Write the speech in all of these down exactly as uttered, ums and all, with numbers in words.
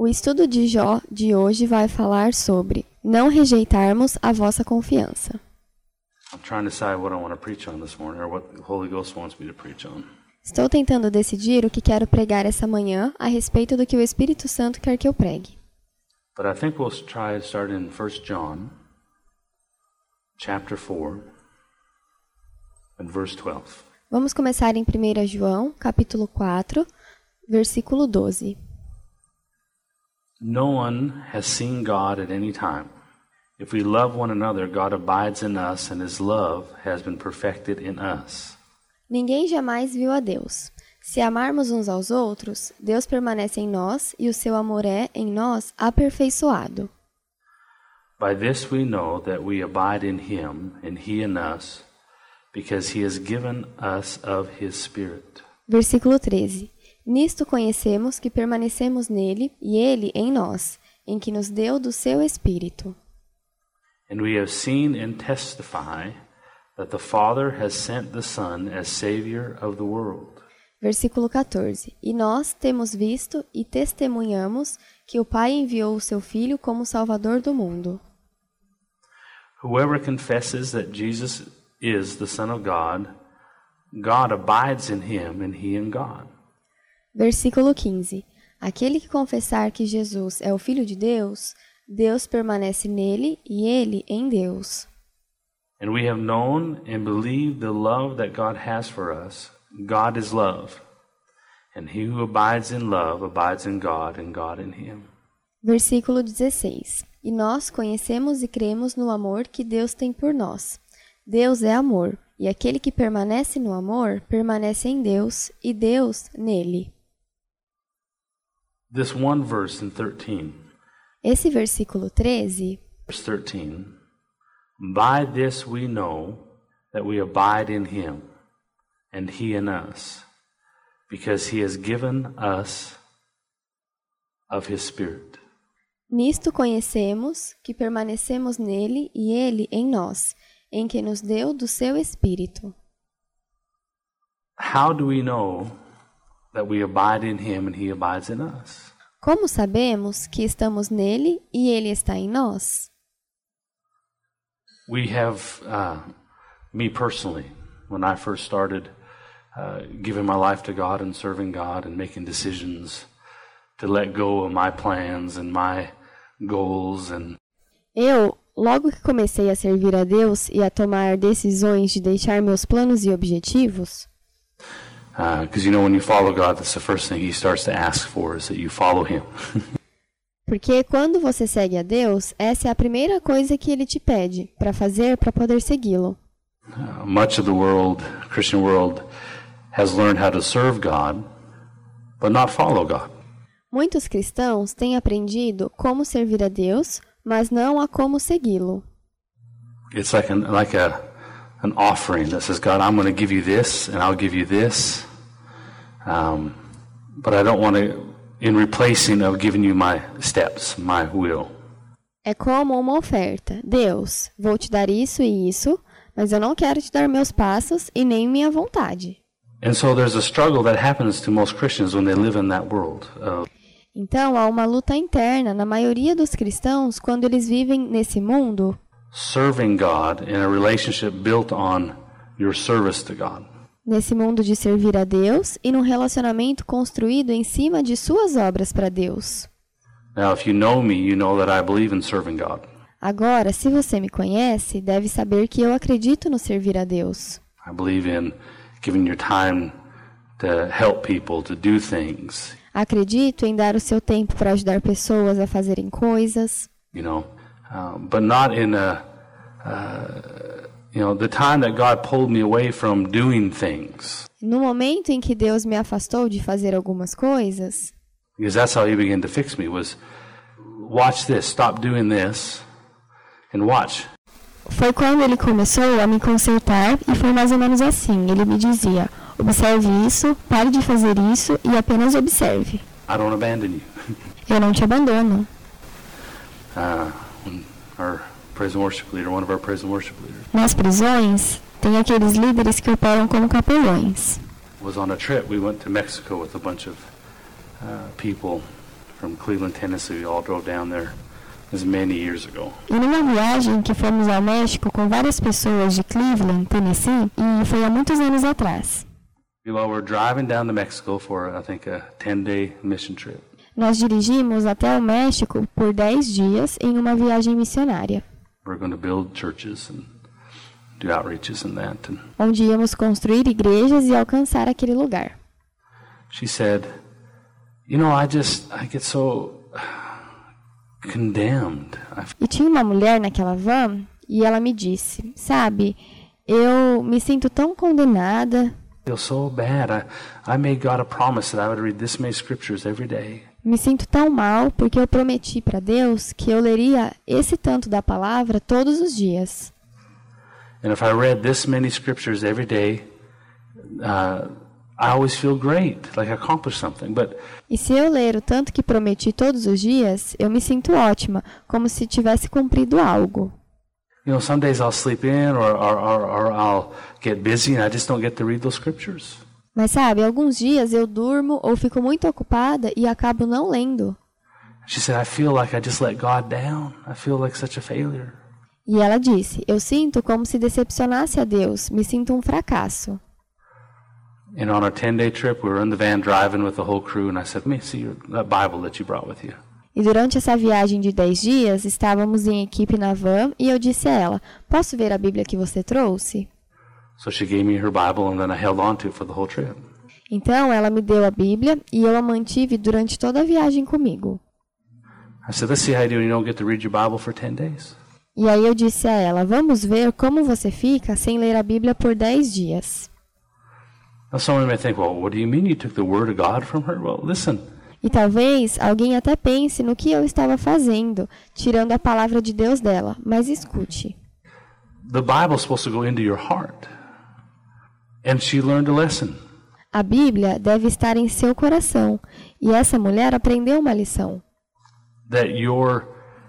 O estudo de Jó de hoje vai falar sobre não rejeitarmos a vossa confiança. Estou tentando decidir o que quero pregar essa manhã a respeito do que o Espírito Santo quer que eu pregue. But I think we'll try to start in First John, chapter four, and verse twelve. Vamos começar em primeira João, capítulo quatro, versículo doze. No one has seen God at any time. If we love one another, God abides in us, and his love has been perfected in us. Ninguém jamais viu a Deus. Se amarmos uns aos outros, Deus permanece em nós e o seu amor é, em nós, aperfeiçoado. By this we know that we abide in him, and he in us, because he has given us of his Spirit. Versículo treze. Nisto conhecemos que permanecemos nele e ele em nós, em que nos deu do seu Espírito. And we have seen and testify that the Father has sent the Son as Savior of the world. Versículo quatorze. E nós temos visto e testemunhamos que o Pai enviou o seu Filho como Salvador do mundo. Whoever confesses that Jesus is the Son of God, God abides in him and he in God. Versículo quinze. Aquele que confessar que Jesus é o Filho de Deus, Deus permanece nele e ele em Deus. And we have known and believed the love that God has for us. God is love. And he who abides in love abides in God and God in him. Versículo dezesseis. E nós conhecemos e cremos no amor que Deus tem por nós. Deus é amor, e aquele que permanece no amor permanece em Deus e Deus nele. This one verse in thirteen. Esse versículo treze. Verse thirteen. By this we know that we abide in him, and he in us, because he has given us of his Spirit. Nisto conhecemos que permanecemos nele e ele em nós, em que nos deu do seu Espírito. How do we know that we abide in him and he abides in us? Como sabemos que estamos nele e ele está em nós? We have, uh, me personally, when I first started uh, giving my life to God and serving God and making decisions to let go of my plans and my goals and Eu, logo que comecei a servir a Deus e a tomar decisões de deixar meus planos e objetivos, because uh, you know when you follow God, that's the first thing he starts to ask for is that you follow him. Porque quando você segue a Deus, essa é a primeira coisa que ele te pede para fazer para poder segui-lo. Uh, much of the world, Christian world, has learned how to serve God, but not follow God. Muitos cristãos têm aprendido como servir a Deus, mas não a como segui-lo. It's like an like a an offering that says, God, I'm going to give you this, and I'll give you this, um, but I don't want to, in replacing of giving you my steps, my will. É como uma oferta. Deus, vou te dar isso e isso, mas eu não quero te dar meus passos e nem minha vontade. And so there's a struggle that happens to most Christians when they live in that world. Uh, Então, há uma luta interna na maioria dos cristãos quando eles vivem nesse mundo, serving God in a relationship built on your service to God. Nesse mundo de servir a Deus e num relacionamento construído em cima de suas obras para Deus. Now, if you know me, you know that I believe in serving God. Agora, se você me conhece, deve saber que eu acredito no servir a Deus. I believe in giving your time to help people to do things. Acredito em dar o seu tempo para ajudar pessoas a fazerem coisas. You know, uh, but not in a, uh, you know, the time that God pulled me away from doing things. No momento em que Deus me afastou de fazer algumas coisas. Because that's how he began to fix me, was watch this, stop doing this, and watch. Foi quando ele começou a me consertar e foi mais ou menos assim. Ele me dizia, observe isso, pare de fazer isso e apenas observe. I don't abandon you. Eu não te abandono. Uh, our praise and worship leader, one of our praise and worship leaders. Nas prisões, tem aqueles líderes que operam como capelões. Was on a trip. We went to Mexico with a bunch of uh, people from Cleveland, Tennessee. We all drove down there. As many years ago. E numa viagem que fomos ao México com várias pessoas de Cleveland, Tennessee, e foi há muitos anos atrás. Well, we're driving down to Mexico for, I think, a ten-day mission trip. Nós dirigimos até o México por dez dias em uma viagem missionária. We're going to build churches and do outreaches and that. And onde íamos construir igrejas e alcançar aquele lugar. she said, "You know, I just I get so condemned." E tinha uma mulher naquela van e ela me disse, sabe, eu me sinto tão condenada. I feel so bad. I, I made God a promise that I would read this many scriptures every day. Me sinto tão mal porque eu prometi para Deus que eu leria esse tanto da palavra todos os dias. And if I read this many scriptures every day, uh, I always feel great, like I accomplished something. But e se eu ler o tanto que prometi todos os dias, eu me sinto ótima, como se tivesse cumprido algo. You know, some days I'll sleep in or, or, or, or I'll get busy and I just don't get to read those scriptures. Mas sabe, alguns dias eu durmo ou fico muito ocupada e acabo não lendo. She said, I feel like I just let God down. I feel like such a failure. E ela disse, eu sinto como se decepcionasse a Deus, me sinto um fracasso. And on our ten-day trip, we were in the van driving with the whole crew, and I said, let me see your, that Bible that you brought with you. E durante essa viagem de dez dias, estávamos em equipe na van e eu disse a ela, posso ver a Bíblia que você trouxe? So she gave me her Bible, and then I held on to it for the whole trip. Então ela me deu a Bíblia e eu a mantive durante toda a viagem comigo. I said, let's see how you do when you don't get to read your Bible for ten days. E aí eu disse a ela, vamos ver como você fica sem ler a Bíblia por dez dias. Now someone may think, well, what do you mean you took the Word of God from her? Well, listen. E talvez alguém até pense no que eu estava fazendo, tirando a palavra de Deus dela, mas escute. The Bible is supposed to go into your heart. And she learned a lesson. A Bíblia deve estar em seu coração, e essa mulher aprendeu uma lição. That your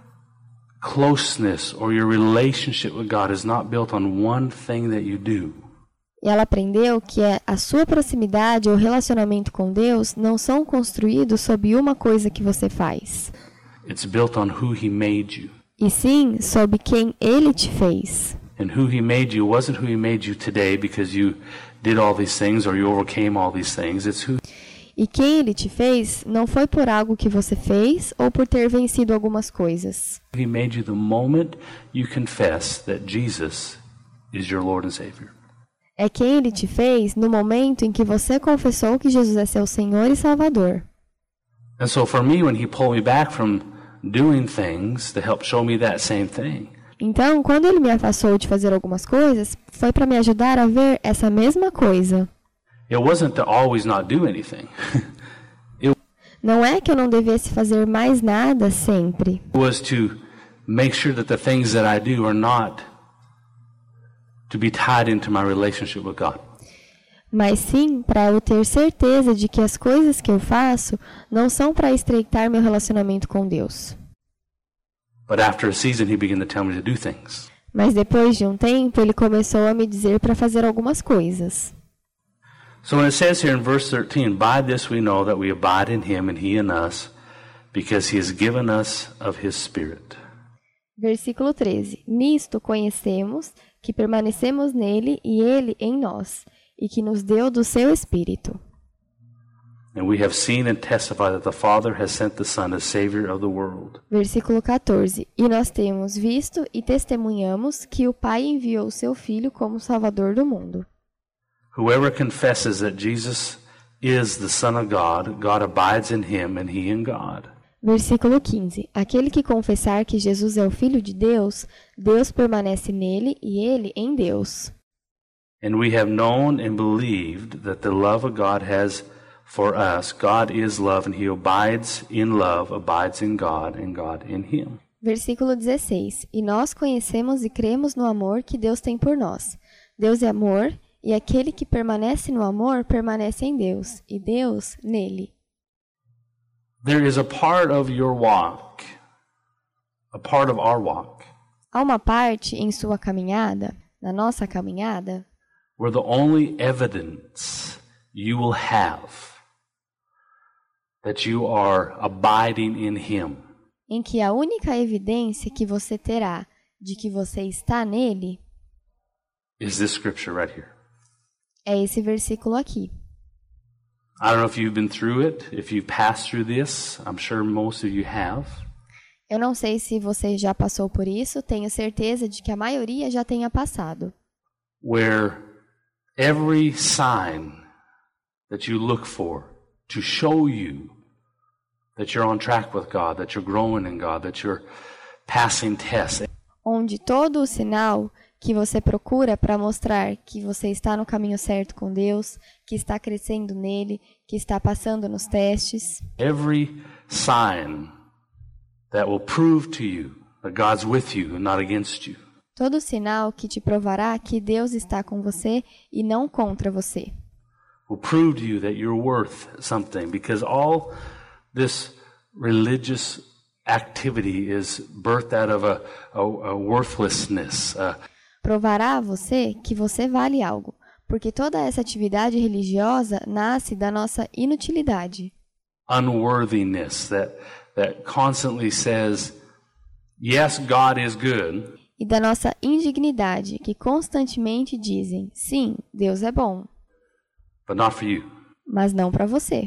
closeness or your relationship with God is not built on one thing that you do. E ela aprendeu que a sua proximidade ou relacionamento com Deus não são construídos sob uma coisa que você faz. It's built on who He made you. E sim, sob quem Ele te fez. And who He made you wasn't who He made you today because you did all these things or you overcame all these things. It's who. E quem Ele te fez não foi por algo que você fez ou por ter vencido algumas coisas. He made you the moment you confess that Jesus is your Lord and Savior. É quem Ele te fez no momento em que você confessou que Jesus é seu Senhor e Salvador. And so for me, when He pulled me back from doing things to help show me that same thing. Então, quando Ele me afastou de fazer algumas coisas, foi para me ajudar a ver essa mesma coisa. It wasn't to always not do anything. It Não é que eu não devesse fazer mais nada sempre. was to make sure that the things that I do are not to be tied into my relationship with God. Mas sim para eu ter certeza de que as coisas que eu faço não são para estreitar meu relacionamento com Deus. But after a season, He began to tell me to do things. Mas depois de um tempo, Ele começou a me dizer para fazer algumas coisas. So when it says here in verse thirteen, by this we know that we abide in Him and He in us, because He has given us of His Spirit. Versículo treze. Nisto conhecemos que permanecemos nele e ele em nós, e que nos deu do seu Espírito. And we have seen and testified that the Father has sent the Son as Savior of the world. Versículo quatorze. E nós temos visto e testemunhamos que o Pai enviou o seu Filho como Salvador do mundo. Whoever confesses that Jesus is the Son of God, God abides in him and he in God. Versículo quinze. Aquele que confessar que Jesus é o Filho de Deus, Deus permanece nele e ele em Deus. And we have known and believed that the love of God has for us. God is love and he abides in love, abides in God, and God in him. Versículo dezesseis. E nós conhecemos e cremos no amor que Deus tem por nós. Deus é amor, e aquele que permanece no amor permanece em Deus, e Deus nele. There is a part of your walk, a part of our walk, Há uma parte em sua caminhada, na nossa caminhada, where the only evidence you will have that you are abiding in Him em que a única evidência que você terá de que você está nele is this scripture right here. é esse versículo aqui. I don't know if you've been through it, if you've passed through this. I'm sure most of you have. Eu não sei se você já passou por isso, tenho certeza de que a maioria já tenha passado. Where every sign that you look for to show you that you're on track with God, that you're growing in God, that you're passing tests. Onde todo o sinal que você procura para mostrar que você está no caminho certo com Deus, que está crescendo nele, que está passando nos testes. Every sign that will prove to you that God's with you and not against you. Todo sinal que te provará que Deus está com você e não contra você. Will prove to you that you're worth something, because all this religious activity is birthed out of a, a, a worthlessness. A... Provará a você que você vale algo, porque toda essa atividade religiosa nasce da nossa inutilidade. Unworthiness that that constantly says, yes, God is good. E da nossa indignidade, que constantemente dizem, sim, Deus é bom. But not for you. Mas não para você.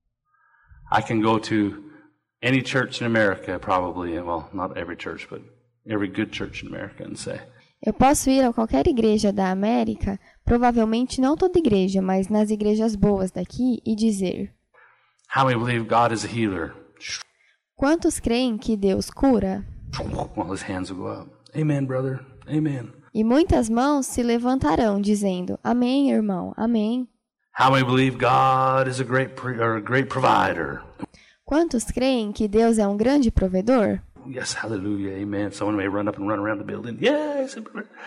I can go to any church in America, probably, well, not every church, but every good church in America, and say, eu posso ir a qualquer igreja da América, provavelmente não toda igreja, mas nas igrejas boas daqui, e dizer, how many believe God is a healer? Quantos creem que Deus cura? Well, his hands will go up. Amen, brother. Amen. E muitas mãos se levantarão, dizendo, amém, irmão, amém. How many believe God is a great pre- or a great provider? Quantos creem que Deus é um grande provedor? Yes, hallelujah, amen. Someone may run up and run around the building. Yes.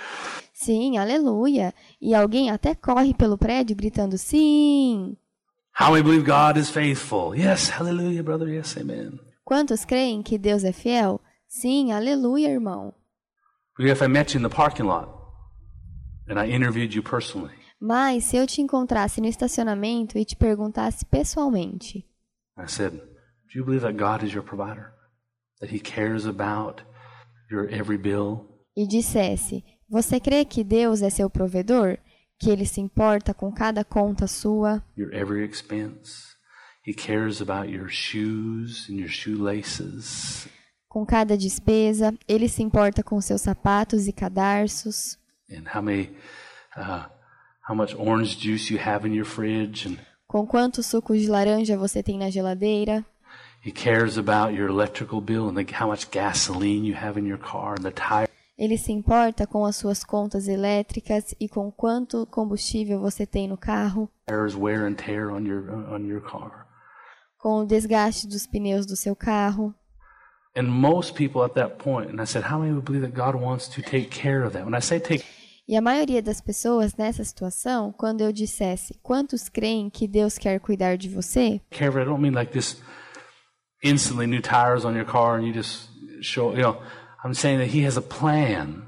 Sim, aleluia. E alguém até corre pelo prédio gritando sim. How many believe God is faithful? Yes, hallelujah, brother. Yes, amen. Quantos creem que Deus é fiel? Sim, aleluia, irmão. If I met you in the parking lot and I interviewed you personally. Mas se eu te encontrasse no estacionamento e te perguntasse pessoalmente. I said, do you believe that God is your provider? That he cares about your every bill? E dissesse, você crê que Deus é seu provedor? Que ele se importa com cada conta sua? Your every expense. He cares about your shoes and your shoelaces. Com cada despesa, ele se importa com seus sapatos e cadarços. And how many, uh, how much orange juice you have in your fridge? And com quantos sucos de laranja você tem na geladeira? He cares about your electrical bill and the, how much gasoline you have in your car and the tire. Ele se importa com as suas contas elétricas e com quanto combustível você tem no carro. Tires wear and tear on your on your car. Com o desgaste dos pneus do seu carro. And most people at that point, and I said, how many would believe that God wants to take care of that? When I say take E a maioria das pessoas nessa situação, quando eu dissesse, quantos creem que Deus quer cuidar de você? care of it, I don't mean like this instantly new tires on your car and you just show, you know, I'm saying that he has a plan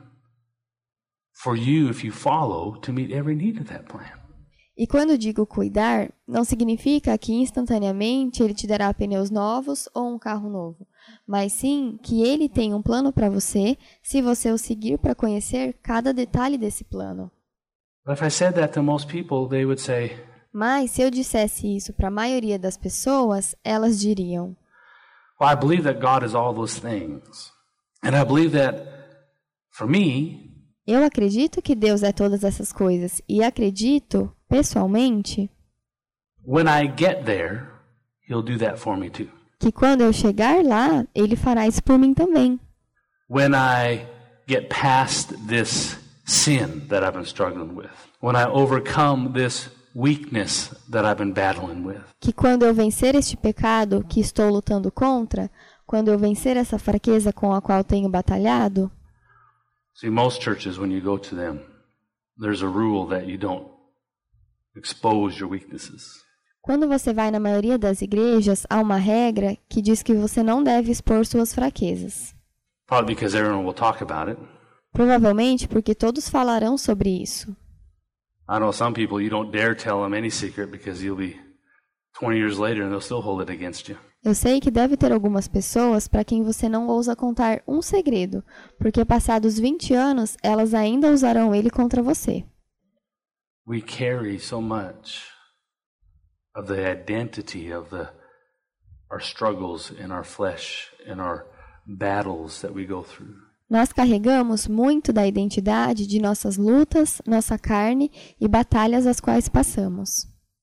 for you if you follow to meet every need of that plan. E quando digo cuidar, não significa que instantaneamente ele te dará pneus novos ou um carro novo, mas sim que ele tem um plano para você se você o seguir para conhecer cada detalhe desse plano. But if I said that to most people, they would say, mas se eu dissesse isso para a maioria das pessoas, elas diriam, well, I believe that God is all those things. And I believe that for me, eu acredito que Deus é todas essas coisas e acredito, pessoalmente, when I get there, he'll do that for me too. Que quando eu chegar lá, ele fará isso por mim também. When I get past this sin that I've been struggling with, when I overcome this weakness that I've been battling with. Que quando eu vencer este pecado que estou lutando contra, quando eu vencer essa fraqueza com a qual tenho batalhado. See, most churches, when you go to them, there's a rule that you don't expose your weaknesses. Quando você vai na maioria das igrejas, há uma regra que diz que você não deve expor suas fraquezas. Probably because everyone will talk about it. Provavelmente porque todos falarão sobre isso. I know some people you don't dare tell them any secret because you'll be twenty years later and they'll still hold it against you. Eu sei que deve ter algumas pessoas para quem você não ousa contar um segredo, porque passados vinte anos, elas ainda usarão ele contra você. We carry so much of the identity of the our struggles in our flesh and our battles that we go through. Nós carregamos muito da identidade de nossas lutas, nossa carne e batalhas as quais passamos.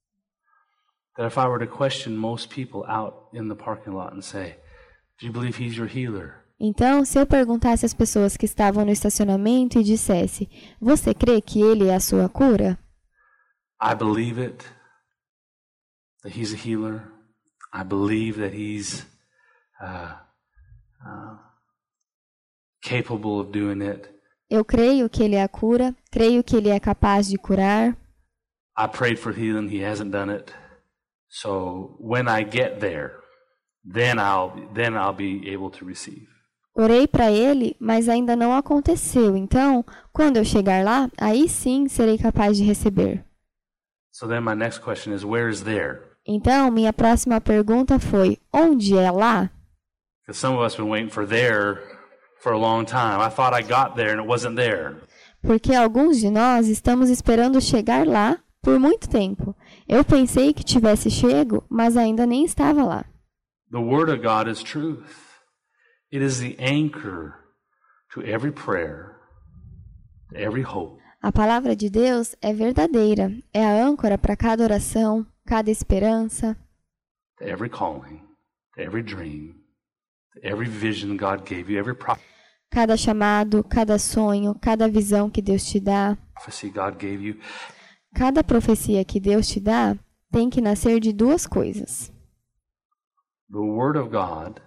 That if I were to question most people out in the parking lot and say, "Do you believe he's your healer?" Então, se eu perguntasse às pessoas que estavam no estacionamento e dissesse, você crê que ele é a sua cura? I believe it, that he's a healer. I believe that he's uh, uh, capable of doing it. Eu creio que ele é a cura, creio que ele é capaz de curar. I prayed for healing, he hasn't done it. So when I get there, then I'll then I'll be able to receive. Orei para ele, mas ainda não aconteceu. Então, quando eu chegar lá, aí sim serei capaz de receber. So then my next question is, where is there? Então, minha próxima pergunta foi, onde é lá? Because some of us have been waiting for there for a long time. I thought I got there and it wasn't there. Porque alguns de nós estamos esperando chegar lá por muito tempo. Eu pensei que tivesse chego, mas ainda nem estava lá. The Word of God is truth. It is the anchor to every prayer, to every hope. A palavra de Deus é verdadeira, é a âncora para cada oração, cada esperança, To every calling, to every dream, to every vision God gave you, every cada chamado, cada sonho, cada visão que Deus te dá, prophecy God gave you. cada profecia que Deus te dá tem que nascer de duas coisas. The Word of God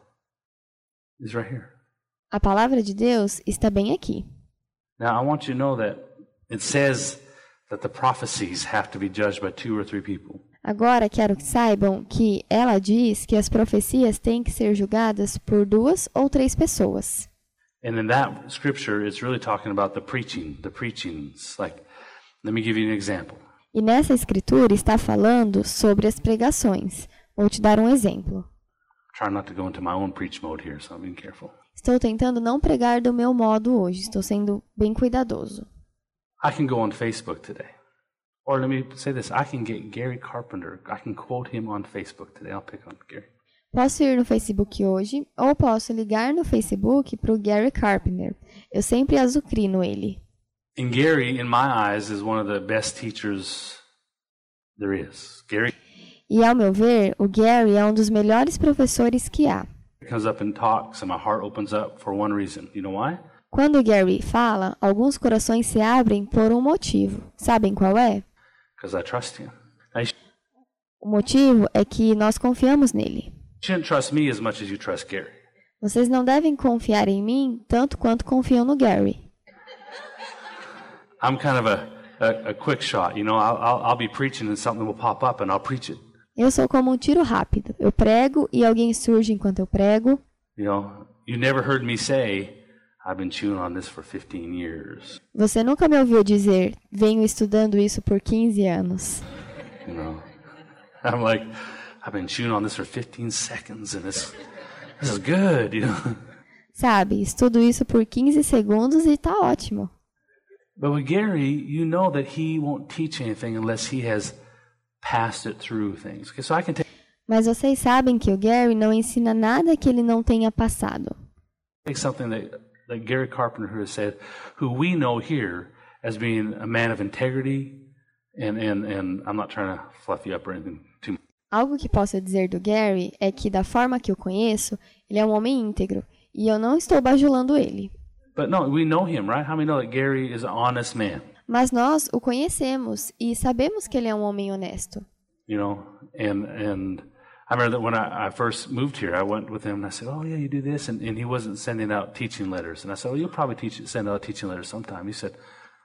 is right here. A palavra de Deus está bem aqui. Now I want you to know that it says that the prophecies have to be judged by two or three people. Agora quero que saibam que ela diz que as profecias têm que ser julgadas por duas ou três pessoas. And in that scripture, it's really talking about the preaching, the preachings. Like, let me give you an example. E nessa escritura está falando sobre as pregações. Vou te dar um exemplo. Try not to go into my own preach mode here, so I'm being careful. Estou tentando não pregar do meu modo hoje. Estou sendo bem cuidadoso. I can go on Facebook today. Or let me say this, I can get Gary Carpenter. I can quote him on Facebook today. I'll pick on Gary. Posso ir no Facebook hoje, ou posso ligar no Facebook para o Gary Carpenter. Eu sempre azucrino ele. And Gary, in my eyes, is one of the best teachers there is. Gary E ao meu ver, o Gary é um dos melhores professores que há. comes up and talks, and my heart opens up for one reason. You know why? Quando o Gary fala, alguns corações se abrem por um motivo. Sabem qual é? Because I trust him. Now, you O motivo é que nós confiamos nele. shouldn't trust me as much as you trust Gary. Vocês não devem confiar em mim tanto quanto confiam no Gary. I'm kind of a, a, a quick shot. You know, I'll, I'll, I'll be preaching and something will pop up and I'll preach it. Eu sou como um tiro rápido. Eu prego e alguém surge enquanto eu prego. You know, you never heard me say, I've been chewing on this for fifteen years. Você nunca me ouviu dizer, venho estudando isso por quinze anos. You know, I'm like, I've been chewing on this for fifteen seconds and this, this is good, you know. Sabe, estudo isso por quinze segundos e tá ótimo. But with Gary, you know that he won't teach anything unless he has passed it through things. Okay, so I can take Mas vocês sabem que o Gary não ensina nada que ele não tenha passado. something that, that Gary Carpenter who has said, who we know here as being a man of integrity, and, and, and I'm not trying to fluff you up or anything too much. Algo que posso dizer do Gary é que, da forma que eu conheço, ele é um homem íntegro, e eu não estou bajulando ele. But no, we know him, right? How many know that Gary is an honest man? Mas nós o conhecemos e sabemos que ele é um homem honesto. You know, and and I remember that when I, I first moved here, I went with him and I said, "Oh yeah, you do this," and, and he wasn't sending out teaching letters, and I said, "Oh, you'll probably teach send out teaching letters sometime." He said,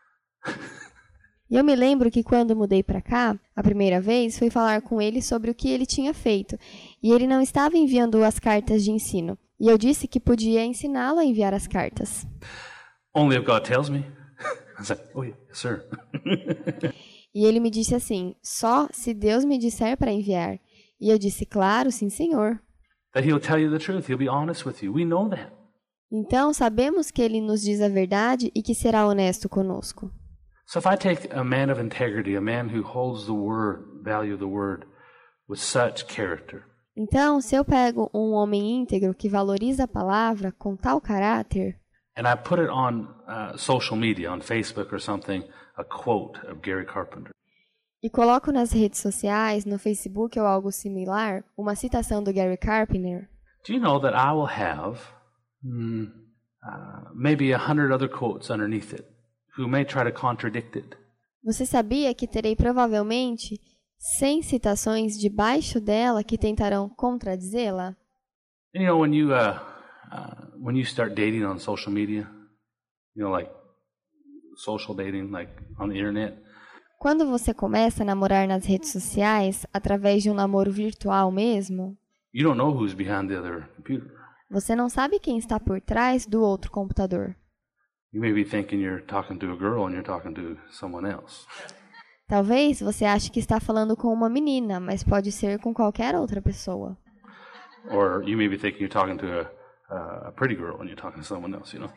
E eu me lembro que quando mudei para cá, a primeira vez, fui falar com ele sobre o que ele tinha feito, e ele não estava enviando as cartas de ensino. E eu disse que podia ensiná-lo a enviar as cartas. "Only if God tells me." I was like, "Oh yeah, yes, sir." E ele me disse assim, só se Deus me disser para enviar. E eu disse, claro, sim, senhor. That he'll tell you the truth. He'll be honest with you. We know that. Então, sabemos que ele nos diz a verdade e que será honesto conosco. So if I take a man of integrity, a man who holds the word, value the word, with such character, Então, se eu pego um homem íntegro que valoriza a palavra com tal caráter, and I put it on uh, social media, on Facebook or something, a quote of Gary Carpenter, e coloco nas redes sociais, no Facebook ou algo similar, uma citação do Gary Carpenter, do you know that I will have mm, uh, maybe a hundred other quotes underneath it who may try to contradict it? você sabia que terei provavelmente cem citações debaixo dela que tentarão contradizê-la? You know, when you uh, uh, when you start dating on social media, you know, like social dating, like on the internet. Quando você começa a namorar nas redes sociais, através de um namoro virtual mesmo, You don't know who's behind the other computer. você não sabe quem está por trás do outro computador. You may be thinking you're talking to a girl and you're talking to someone else. Talvez você ache que está falando com uma menina, mas pode ser com qualquer outra pessoa. Or you may be thinking you're talking to a, a pretty girl and you're talking to someone else, you know.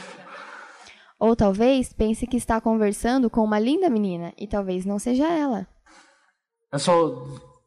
Ou talvez pense que está conversando com uma linda menina, e talvez não seja ela. And so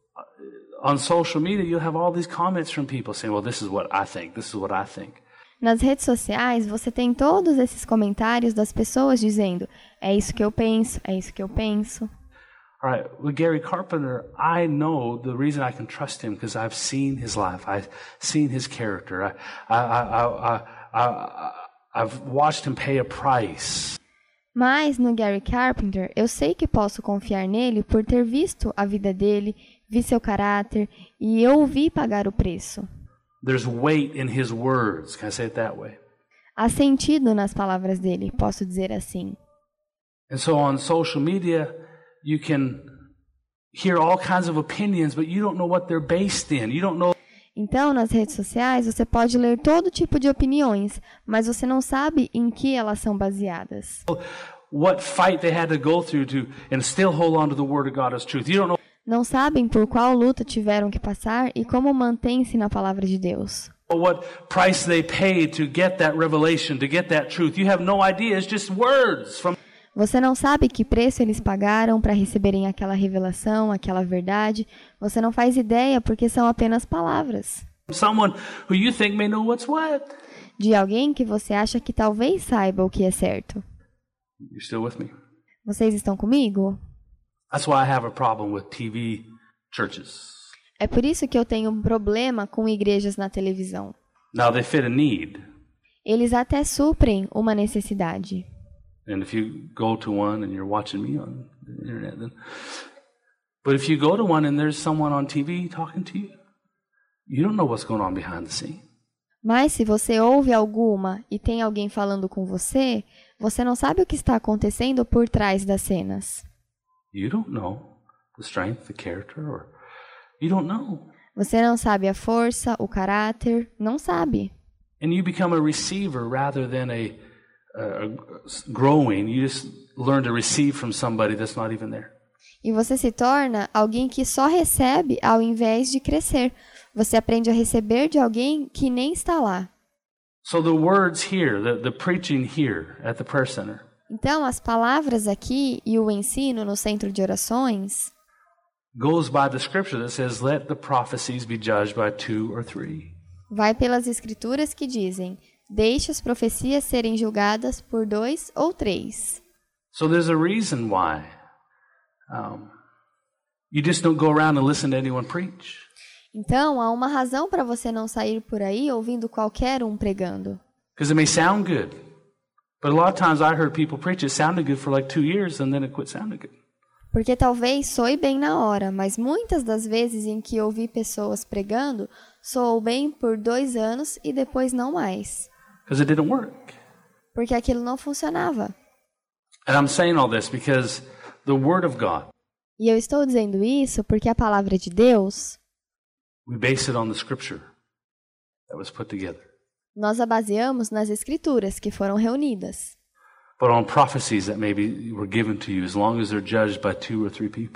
on social media, you'll have all these comments from people saying, well, this is what I think, this is what I think. Nas redes sociais, você tem todos esses comentários das pessoas dizendo, é isso que eu penso, é isso que eu penso. All right, with Gary Carpenter, I know the reason I can trust him because I've seen his life, I've seen his character, I, I, I, I, I, I, I've watched him pay a price. Mas no Gary Carpenter, eu sei que posso confiar nele por ter visto a vida dele, vi seu caráter e eu o vi pagar o preço. There's weight in his words. Can I say it that way? Há sentido nas palavras dele, posso dizer assim. And so on social media, you can hear all kinds of opinions, but you don't know what they're based in. You don't know. Então, nas redes sociais, você pode ler todo tipo de opiniões, mas você não sabe em que elas são baseadas. What fight they had to go through to and still hold on to the word of God as truth. You don't know. Não sabem por qual luta tiveram que passar e como mantém-se na palavra de Deus. What price they paid to get that revelation, to get that truth. You have no idea. It's just words from. Você não sabe que preço eles pagaram para receberem aquela revelação, aquela verdade. Você não faz ideia porque são apenas palavras. Someone who you think may know what's what. De alguém que você acha que talvez saiba o que é certo. You still with me? Vocês estão comigo? That's why I have a problem with T V churches. É por isso que eu tenho um problema com igrejas na televisão. Now they fit a need. Eles até suprem uma necessidade. And if you go to one and you're watching me on the internet, then. But if you go to one and there's someone on T V talking to you, you don't know what's going on behind the scene. Mas se você ouve alguma e tem alguém falando com você, você não sabe o que está acontecendo por trás das cenas. You don't know the strength, the character, or you don't know. Você não sabe a força, o caráter, não sabe. And you become a receiver rather than a, a, a growing. You just learn to receive from somebody that's not even there. E você se torna alguém que só recebe ao invés de crescer. Você aprende a receber de alguém que nem está lá. So the words here, the, the preaching here at the prayer center. Então, as palavras aqui e o ensino no centro de orações goes by the scripture that says, let the prophecies be judged by two or three. Vai pelas escrituras que dizem, deixe as profecias serem julgadas por dois ou três. So there's a reason why um, you just don't go around and listen to anyone preach. Então, há uma razão para você não sair por aí ouvindo qualquer um pregando. Because it may sound good. But a lot of times I heard people preach, it sounded good for like two years and then it quit sounding good. Porque talvez soe bem na hora, mas muitas das vezes em que ouvi pessoas pregando, soou bem por dois anos e depois não mais. Because it didn't work. Porque aquilo não funcionava. And I'm saying all this because the Word of God. E eu estou dizendo isso porque a palavra de Deus, we base it on the Scripture that was put together. Nós a baseamos nas escrituras que foram reunidas. But on prophecies that maybe were given to you, as long as they're judged by two or three people.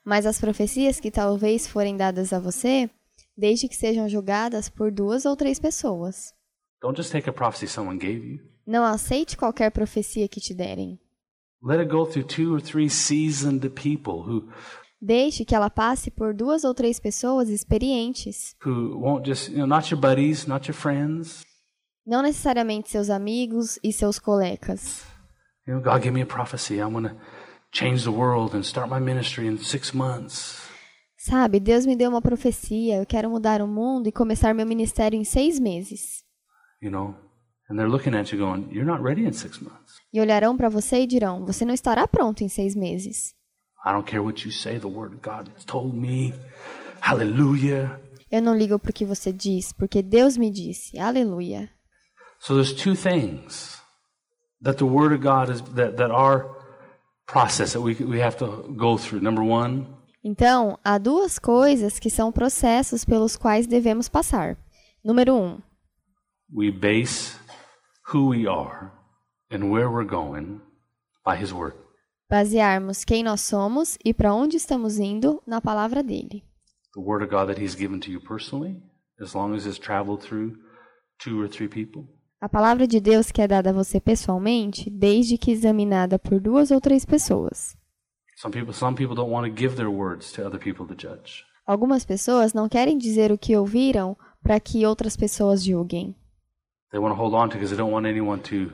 Mas as profecias que talvez forem dadas a você, desde que sejam julgadas por duas ou três pessoas. Don't just take a prophecy someone gave you. Não aceite qualquer profecia que te derem. Let it go through two or three seasoned people who Deixe que ela passe por duas ou três pessoas experientes. who won't just, you know, not your buddies, not your friends. Não necessariamente seus amigos e seus colegas. You know, God gave me a prophecy. I'm going to change the world and start my ministry in six months. Sabe, Deus me deu uma profecia, eu quero mudar o mundo e começar meu ministério em seis meses. You know, and they're looking at you going, you're not ready in six months. E olharão para você e dirão, você não estará pronto em seis meses. I don't care what you say, the word of God has told me. Hallelujah. Eu não ligo para o que você diz, porque Deus me disse. Aleluia. So there's two things that the word of God is, that, that our process that we, we have to go through. Number one, Então, há duas coisas que são processos pelos quais devemos passar. Número um, we base who we are and where we're going by His Word. basearmos quem nós somos e para onde estamos indo na palavra dele. The Word of God that He's given to you personally, as long as it's traveled through two or three people. A palavra de Deus que é dada a você pessoalmente, desde que examinada por duas ou três pessoas. Some people, some people don't want to give their words to other people to judge. Algumas pessoas não querem dizer o que ouviram para que outras pessoas julguem. They want to hold on to because they don't want anyone to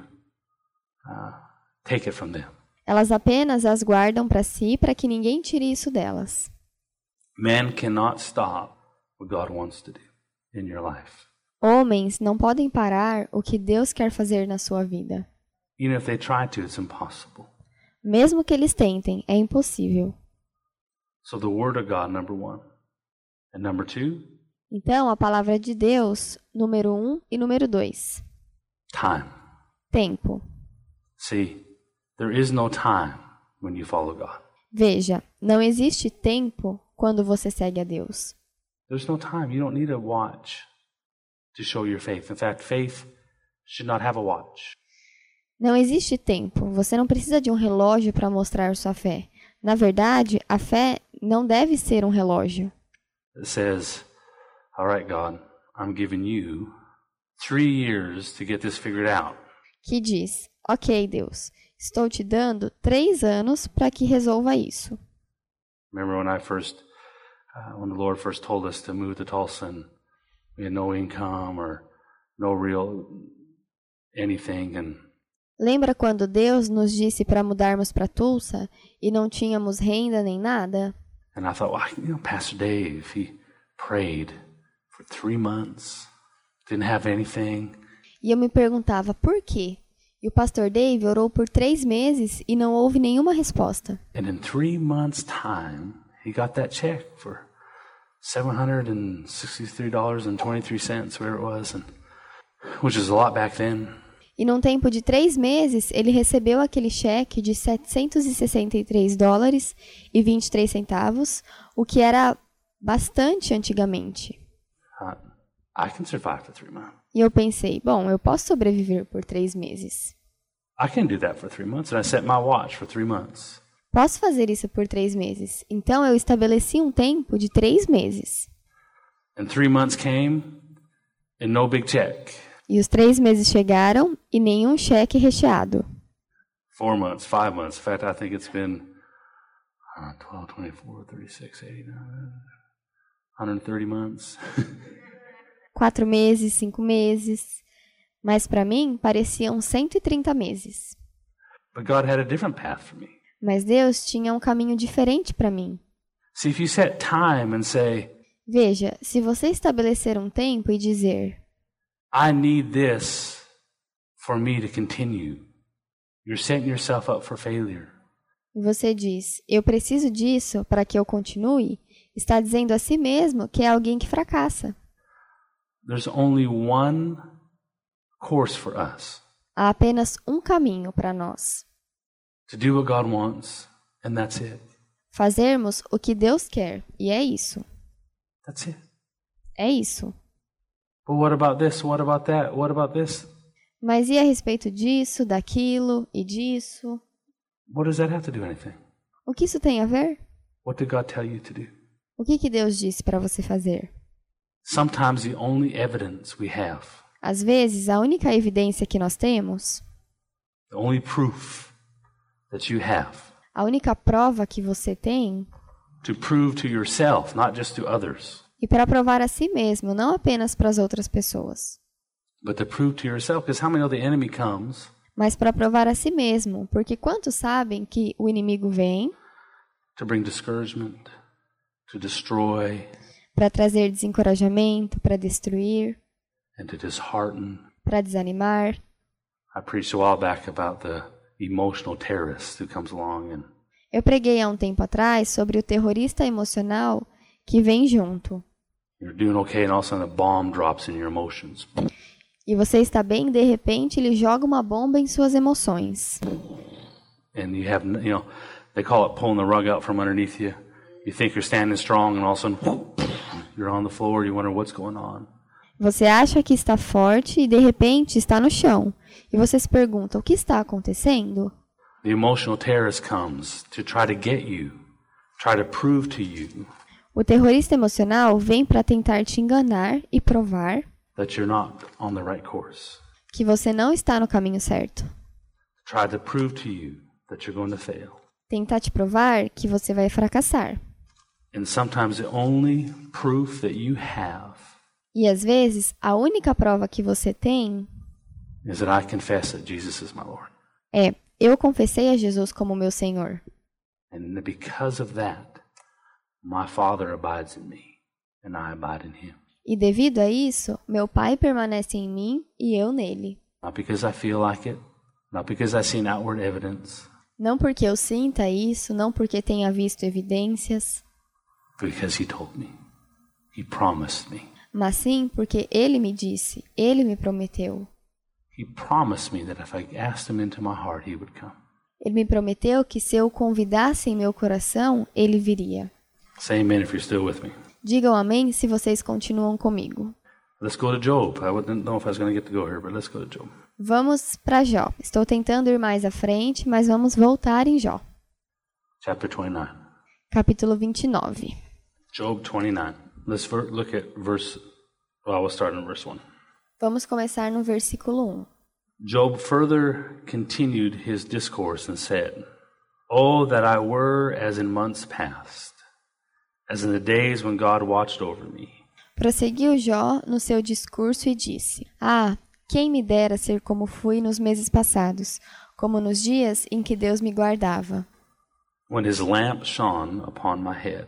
uh, take it from them. Elas apenas as guardam para si para que ninguém tire isso delas. Man cannot stop what God wants to do in your life. Homens não podem parar o que Deus quer fazer na sua vida. Even if they try to, it's impossible. Mesmo que eles tentem, é impossível. So the Word of God, number one. And number two, Então, a palavra de Deus, número um e número dois. time. Tempo. See, there is no time when you follow God. Veja, não existe tempo quando você segue a Deus. There's no time. You don't need a watch to show your faith. In fact, faith should not have a watch. Não existe tempo. Você não precisa de um relógio para mostrar sua fé. Na verdade, a fé não deve ser um relógio. It says, all right, God, I'm giving you three years to get this figured out. Que diz, ok, Deus, estou te dando três anos para que resolva isso. Remember when I first, uh, when the Lord first told us to move to Tulsa and we had no income or no real anything, and Lembra quando Deus nos disse para mudarmos para Tulsa e não tínhamos renda nem nada? and I thought, well, you know, Pastor Dave, he prayed for three months, didn't have anything. E eu me perguntava por quê? E o pastor Dave orou por três meses e não houve nenhuma resposta. And in three months' time, he got that check for seven hundred sixty-three dollars and twenty-three cents, where it was, and, which is a lot back then. E num tempo de três meses, ele recebeu aquele cheque de setecentos e sessenta e três dólares e vinte e três centavos, o que era bastante antigamente. Uh, I can survive for three months. E eu pensei, bom, eu posso sobreviver por três meses. I can do that for three months, and I set my watch for three months. Posso fazer isso por três meses. Então, eu estabeleci um tempo de três meses. And three months came, and no big check. E os três meses chegaram e nenhum cheque recheado. Four months, five months. In fact, I think it's been uh, twelve, twenty-four, thirty-six, eighty-nine, one hundred thirty months. Quatro meses, cinco meses. Mas para mim, pareciam cento e trinta meses. But God had a different path for me. Mas Deus tinha um caminho diferente para mim. See, if you set time and say, Veja, se você estabelecer um tempo e dizer, I need this for me to continue, you're setting yourself up for failure. e você diz, eu preciso disso para que eu continue, está dizendo a si mesmo que é alguém que fracassa. There's only one course for us. Há apenas um caminho para nós. To do what God wants, and that's it. Fazermos o que Deus quer, e é isso. That's it. É isso. But what about this? What about that? What about this? Mas e a respeito disso, daquilo e disso? What does that have to do with anything? O que isso tem a ver? What did God tell you to do? O que que Deus disse para você fazer? Sometimes the only evidence we have, Às vezes, a única evidência que nós temos, the only proof that you have a única prova que você tem, to prove to yourself, not just to others, e para provar a si mesmo, não apenas para as outras pessoas, but to prove to yourself, because how many know the enemy comes mas para provar a si mesmo, porque quantos sabem que o inimigo vem to bring discouragement, to destroy, para trazer desencorajamento, para destruir, and to dishearten. para desanimar. I preached a while back about the emotional terrorist who comes along and Eu preguei há um tempo atrás sobre o terrorista emocional que vem junto. you're doing okay, and all of a sudden a bomb drops in your emotions. E você está bem, de repente ele joga uma bomba em suas emoções. And you have, you know, they call it pulling the rug out from underneath you. You think you're standing strong, and all of a sudden, you're on the floor. You wonder what's going on. Você acha que está forte e de repente está no chão. E você se pergunta, o que está acontecendo? The emotional terrorist comes to try to get you, try to prove to you O terrorista emocional vem para tentar te enganar e provar that you're not on the right course. que você não está no caminho certo. Try to prove to you that you're going to fail. Tentar te provar que você vai fracassar. And sometimes the only proof that you have E às vezes, a única prova que você tem is that I confess that Jesus is my Lord. é: eu confessei a Jesus como meu Senhor. And because of that, my Father abides in me, and I abide in him. E devido a isso, meu Pai permanece em mim e eu nele. Not because I feel like it, not because I've seen outward evidence, Não porque eu sinta isso, não porque tenha visto evidências, because he told me. He promised me. mas sim porque Ele me disse, Ele me prometeu. He promised me that if I asked him into my heart, he would come. Ele me prometeu que se eu o convidasse em meu coração, Ele viria. Say amen if you're still with me. Digam amém se vocês continuam comigo. Let's go to Job. I wouldn't know if I was going to get to go here, but let's go to Job. Vamos para Jó. Estou tentando ir mais à frente, mas vamos voltar em Jó. Chapter twenty-nine. Capítulo vinte e nove. Job twenty-nine. Let's ver- look at verse, well, we'll start in verse one. Vamos começar no versículo um. Job further continued his discourse and said, Oh, that I were as in months past, as in the days when God watched over me. Prosseguiu Jó no seu discurso e disse: Ah, quem me dera ser como fui nos meses passados, como nos dias em que Deus me guardava. When his lamp shone upon my head,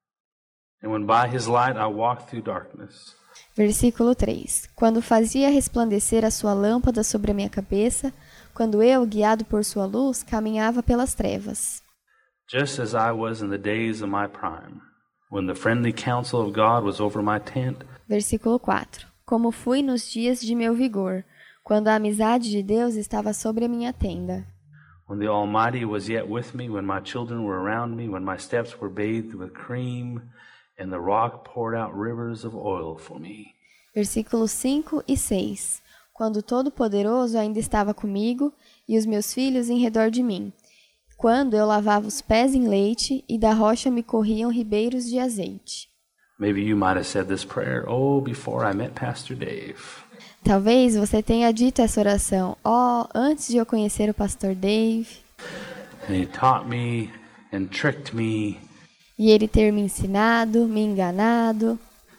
and when by his light I walked through darkness. Versículo três. Quando fazia resplandecer a sua lâmpada sobre a minha cabeça, quando eu, guiado por sua luz, caminhava pelas trevas. Just as I was in the days of my prime, when the friendly counsel of God was over my tent. Versículo quatro. Como fui nos dias de meu vigor, quando a amizade de Deus estava sobre a minha tenda. When the Almighty was yet with me, when my children were around me, when my steps were bathed with cream, and the rock poured out rivers of oil for me. Versículos cinco e seis. Quando o Todo-Poderoso ainda estava comigo e os meus filhos em redor de mim. Quando eu lavava os pés em leite e da rocha me corriam ribeiros de azeite. Maybe you might have said this prayer, oh, before I met Pastor Dave. Talvez você tenha dito essa oração, ó, oh, antes de eu conhecer o pastor Dave. And he taught me and tricked me. E ele ter me ensinado, me enganado.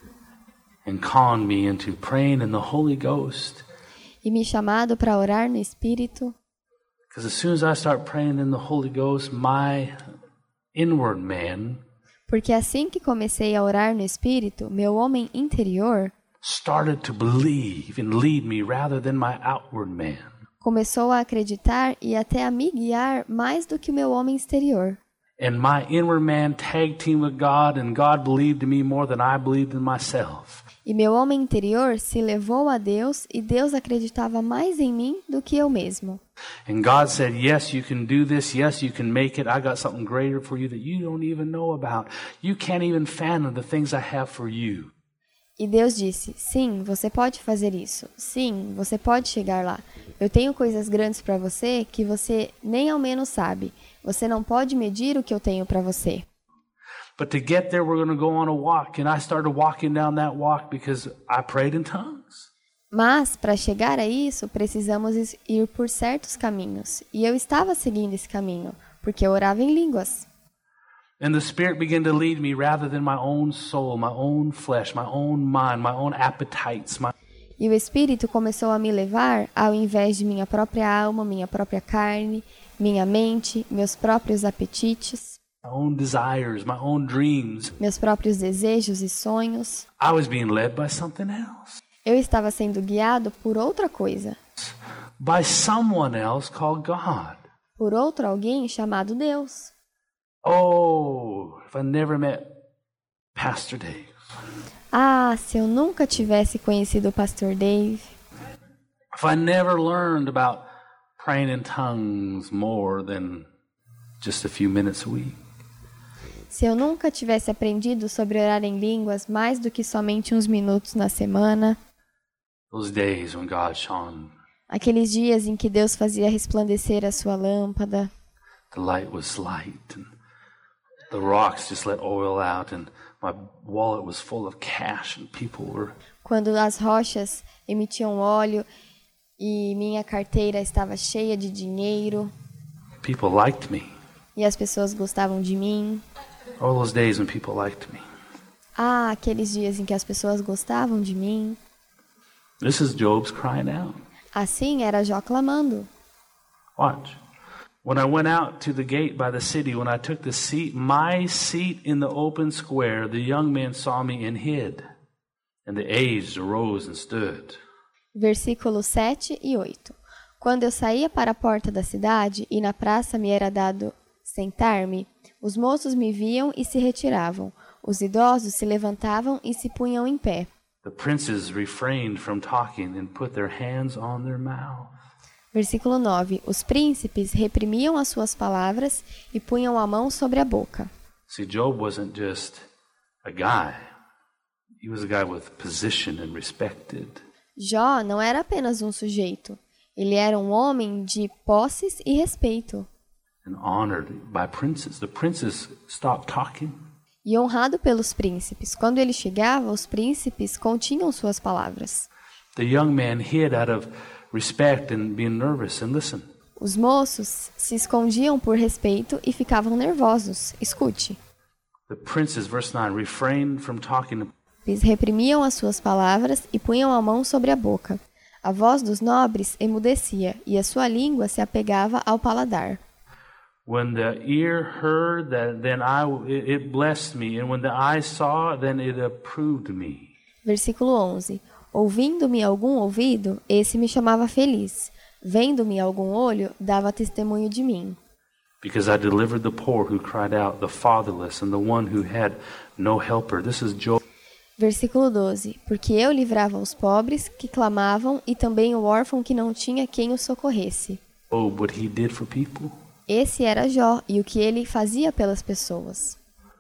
And conned me into praying in the Holy Ghost. E me chamado para orar no Espírito. Because as soon as I start praying in the Holy Ghost, my inward man Porque assim que comecei a orar no Espírito, meu homem interior started to believe and lead me rather than my outward man. Começou a acreditar e até a me guiar mais do que o meu homem exterior. And my inward man tag team with God, and God believed in me more than I believed in myself. E meu homem interior se levou a Deus e Deus acreditava mais em mim do que eu mesmo. And God said, yes, you can do this. Yes, you can make it. I got something greater for you that you don't even know about. You can't even fathom the things I have for you. E Deus disse, sim, você pode fazer isso. Sim, você pode chegar lá. Eu tenho coisas grandes para você que você nem ao menos sabe. Você não pode medir o que eu tenho para você. But to get there, we're going to go on a walk. And I started walking down that walk because I prayed in tongues. Mas, para chegar a isso, precisamos ir por certos caminhos. E eu estava seguindo esse caminho, porque eu orava em línguas. And the Spirit began to lead me rather than my own soul, my own flesh, my own mind, my own appetites. My... E o Espírito começou a me levar ao invés de minha própria alma, minha própria carne, minha mente, meus próprios apetites. My own desires, my own dreams. Meus próprios desejos e sonhos. I was being led by something else. Eu estava sendo guiado por outra coisa. By someone else called God. Por outro alguém chamado Deus. Oh, if I never met Pastor Dave. Ah, se eu nunca tivesse conhecido o pastor Dave. If I never learned about praying in tongues more than just a few minutes a week. Se eu nunca tivesse aprendido sobre orar em línguas mais do que somente uns minutos na semana. Those days when God shone. Aqueles dias em que Deus fazia resplandecer a sua lâmpada. The light was light and the rocks just let oil out and my wallet was full of cash and people were. Quando as rochas emitiam óleo e minha carteira estava cheia de dinheiro. People liked me. E as pessoas gostavam de mim. All those days when people liked me. Ah, aqueles dias em que as pessoas gostavam de mim. This is Job's crying out. Assim era Jó clamando. Watch. When I went out to the gate by the city, when I took the seat, my seat in the open square, the young men saw me and hid, and the aged arose and stood. Versículos sete e oito. Quando eu saía para a porta da cidade e na praça me era dado sentar-me, os moços me viam e se retiravam. Os idosos se levantavam e se punham em pé. The princes refrained from talking and put their hands on their mouth. Versículo nove. Os príncipes reprimiam as suas palavras e punham a mão sobre a boca. See, Job wasn't just a guy. He was a guy with position and respected. Jó não era apenas um sujeito. Ele era um homem de posses e respeito. And honored by princes. The princes stopped talking. E honrado pelos príncipes. Quando ele chegava, os príncipes continham suas palavras. The young man hid out of respect and being nervous. And listen. Os moços se escondiam por respeito e ficavam nervosos. Escute. The princes, verse nine, refrained from talking. Eles reprimiam as suas palavras e punham a mão sobre a boca. A voz dos nobres emudecia e a sua língua se apegava ao paladar. When the ear heard that, then I it blessed me, and when the eye saw, then it approved me. Versículo onze. Ouvindo-me algum ouvido, esse me chamava feliz. Vendo-me algum olho, dava testemunho de mim. Because I delivered the poor who cried out, the fatherless, and the one who had no helper. This is Job. Versículo doze. Porque eu livrava os pobres que clamavam e também o órfão que não tinha quem o socorresse. Oh, what he did for people. Esse era Jó e o que ele fazia pelas pessoas.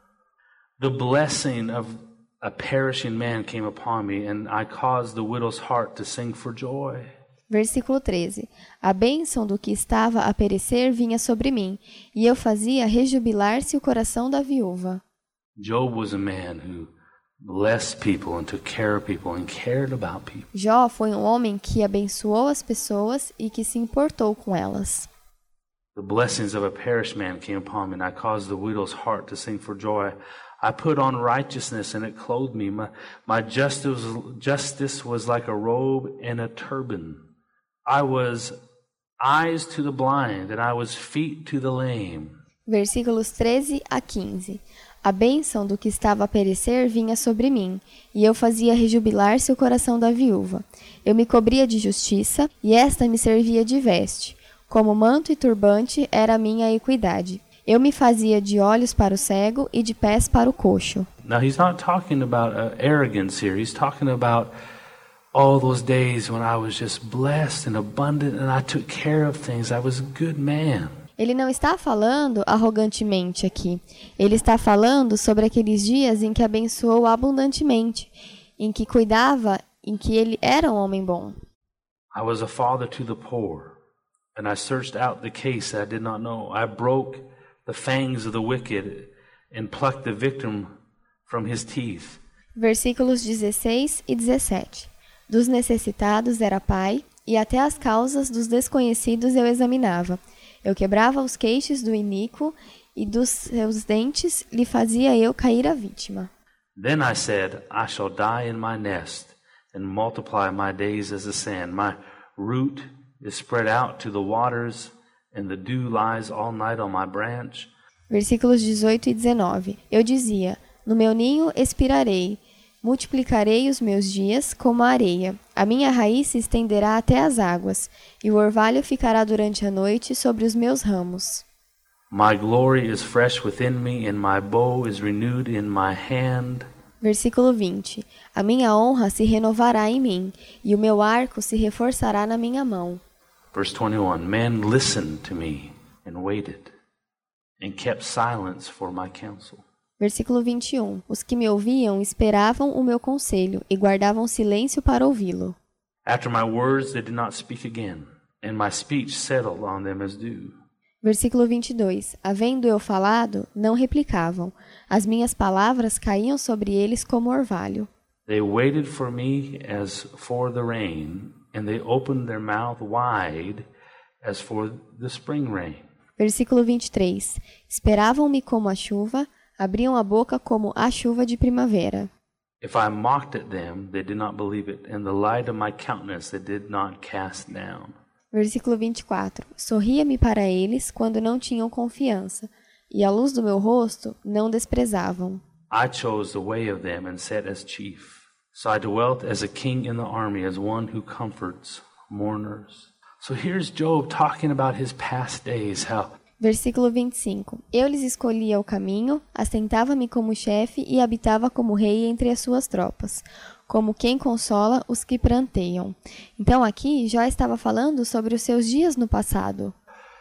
The blessing of a perishing man came upon me, and I caused the widow's heart to sing for joy. Versículo treze. A bênção do que estava a perecer vinha sobre mim, e eu fazia rejubilar-se o coração da viúva. Job was a man who blessed people and took care of people and cared about people. Jó foi um homem que abençoou as pessoas e que se importou com elas. The blessings of a perished man came upon me, and I caused the widow's heart to sing for joy. I put on righteousness, and it clothed me. My, my justice, justice was like a robe and a turban. I was eyes to the blind, and I was feet to the lame. Versículos treze a quinze. A bênção do que estava a perecer vinha sobre mim, e eu fazia rejubilar-se o coração da viúva. Eu me cobria de justiça, e esta me servia de veste. Como manto e turbante era a minha equidade. Eu me fazia de olhos para o cego e de pés para o coxo. Now he's not talking about uh, arrogance here. He's talking about all those days when I was just blessed and abundant and I took care of things. I was a good man. Ele não está falando arrogantemente aqui. Ele está falando sobre aqueles dias em que abençoou abundantemente, em que cuidava, em que ele era um homem bom. I was a father to the poor. And I searched out the case that I did not know. I broke the fangs of the wicked and plucked the victim from his teeth. Versículos dezesseis e dezessete. Dos necessitados era pai, e até as causas dos desconhecidos eu examinava. Eu quebrava os queixos do iníquo, e dos seus dentes lhe fazia eu cair a vítima. Then I said, I shall die in my nest, and multiply my days as the sand. My root is spread out to the waters, and the dew lies all night on my branch. Versículos dezoito e dezenove. Eu dizia, no meu ninho expirarei, multiplicarei os meus dias como a areia. A minha raiz se estenderá até as águas, e o orvalho ficará durante a noite sobre os meus ramos. My glory is fresh within me, and my bow is renewed in my hand. Versículo vinte. A minha honra se renovará em mim, e o meu arco se reforçará na minha mão. Verse twenty-one, men listened to me and waited, and kept silence for my counsel. Versículo vinte e um. Os que me ouviam esperavam o meu conselho, e guardavam silêncio para ouvi-lo. After my words they did not speak again, and my speech settled on them as dew. Versículo vinte e dois. Havendo eu falado, não replicavam. As minhas palavras caíam sobre eles como orvalho. They waited for me as for the rain, and they opened their mouth wide as for the spring rain. Versículo vinte e três. Esperavam-me como a chuva, abriam a boca como a chuva de primavera. If I mocked at them, they did not believe it, and the light of my countenance they did not cast down. Versículo vinte e quatro. Sorria-me para eles quando não tinham confiança, e a luz do meu rosto não desprezavam. I chose the way of them and sat as chief. So I dwelt as a king in the army, as one who comforts mourners. So here's Job talking about his past days, how Versículo vinte e cinco. Eu lhes escolhia o caminho, assentava-me como chefe e habitava como rei entre as suas tropas, como quem consola os que pranteiam. Então aqui Jó estava falando sobre os seus dias no passado.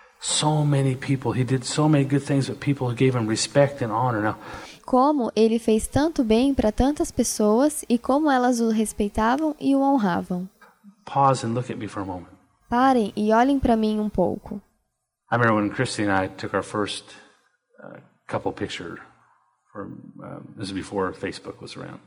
so many people, he did so many good things that people gave him respect and honor. Now, Como ele fez tanto bem para tantas pessoas e como elas o respeitavam e o honravam. pause and look at me for a moment. Parem e olhem para mim um pouco. I remember when Christy and I took our first uh, couple picture. From, uh, this is before Facebook was around.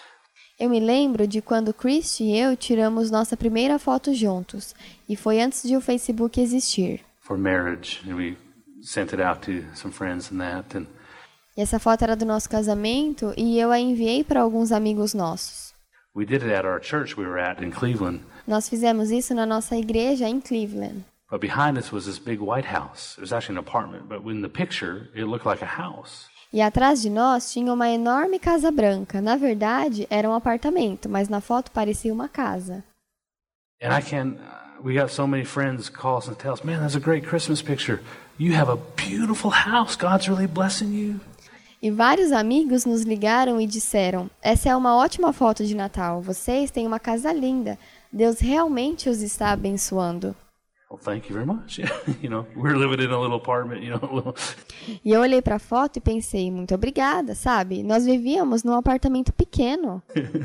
Eu me lembro de quando Christy e eu tiramos nossa primeira foto juntos, e foi antes de o Facebook existir. For marriage, and we sent it out to some friends and that. And E essa foto era do nosso casamento e eu a enviei para alguns amigos nossos. we did it at our church we were at in Cleveland. Nós fizemos isso na nossa igreja em Cleveland. But behind us was this big white house. It was actually an apartment, but in the picture, it looked like a house. E atrás de nós tinha uma enorme casa branca. Na verdade, era um apartamento, mas na foto parecia uma casa. And I can, uh, we got so many friends call us and tell us, man, that's a great Christmas picture. You have a beautiful house. God's really blessing you. E vários amigos nos ligaram e disseram, essa é uma ótima foto de Natal. Vocês têm uma casa linda. Deus realmente os está abençoando. Well, thank you very much. You know, we're living in a little apartment, you know. E eu olhei para a foto e pensei, muito obrigada, sabe? Nós vivíamos num apartamento pequeno.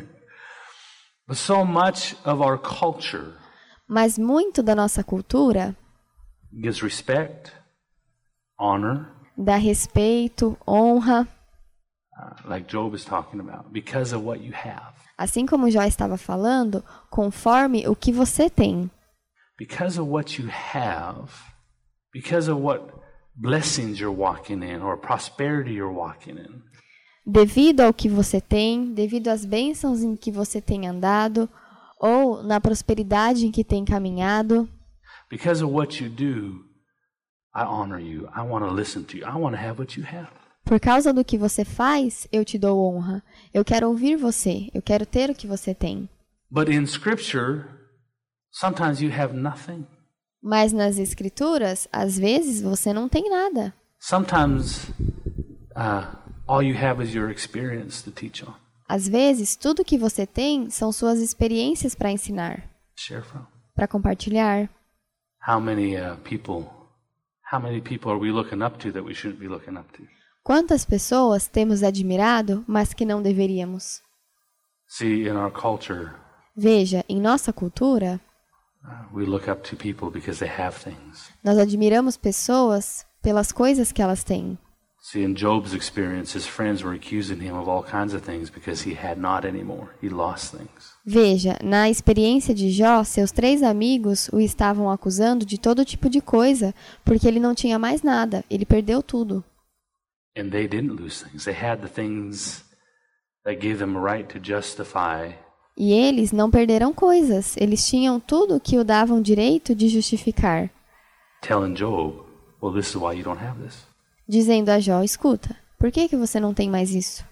But so much of our culture Mas muito da nossa cultura gives respect, honor, dá respeito, honra, uh, like Job is talking about, because of what you have. assim como Jó estava falando, conforme o que você tem. Because of what you have, because of what blessings you're walking in or prosperity you're walking in. Devido ao que você tem, devido às bênçãos em que você tem andado, ou na prosperidade em que tem caminhado, Because of what you do, I honor you. I want to listen to you. I want to have what you have. por causa do que você faz, eu te dou honra. Eu quero ouvir você, eu quero ter o que você tem. But in Scripture, sometimes you have nothing. Mas nas escrituras, às vezes você não tem nada. Sometimes uh, all you have is your experience to teach on, Às vezes, tudo que você tem são suas experiências para ensinar, share from. para compartilhar. How many uh, people, how many people are we looking up to that we shouldn't be looking up to? Quantas pessoas temos admirado, mas que não deveríamos? See, in our culture, Veja, em nossa cultura, uh, we look up to people because they have things. nós admiramos pessoas pelas coisas que elas têm. See, in Job's experience, his friends were accusing him of all kinds of things because he had not anymore. He lost things. Veja, na experiência de Jó, seus três amigos o estavam acusando de todo tipo de coisa, porque ele não tinha mais nada, ele perdeu tudo. And they didn't lose things. They had the things that gave them a right to justify. E eles não perderam coisas, eles tinham tudo que o davam direito de justificar. Telling Job, well, this is why you don't have this. Dizendo a Jó, escuta, por que que você não tem mais isso?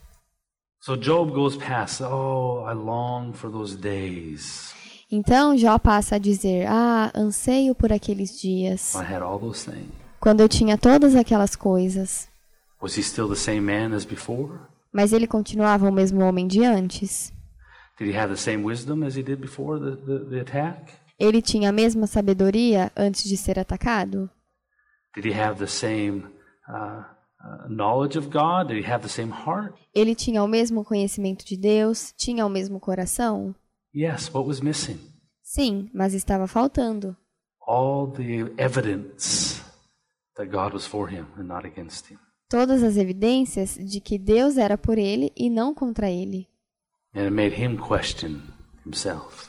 So Job goes past, oh, I long for those days. Então Jó passa a dizer, ah, anseio por aqueles dias, I had all those things. quando eu tinha todas aquelas coisas. Was he still the same man as before? Mas ele continuava o mesmo homem de antes. Did he have the same wisdom as he did before the, the, the attack? Ele tinha a mesma sabedoria antes de ser atacado? Did he have the same uh, uh, knowledge of God? Did he have the same heart? Ele tinha o mesmo conhecimento de Deus? Tinha o mesmo coração? Yes, what was missing? Sim, mas estava faltando. All the evidence that God was for him and not against him. Todas as evidências de que Deus era por ele e não contra ele. And it made him question himself.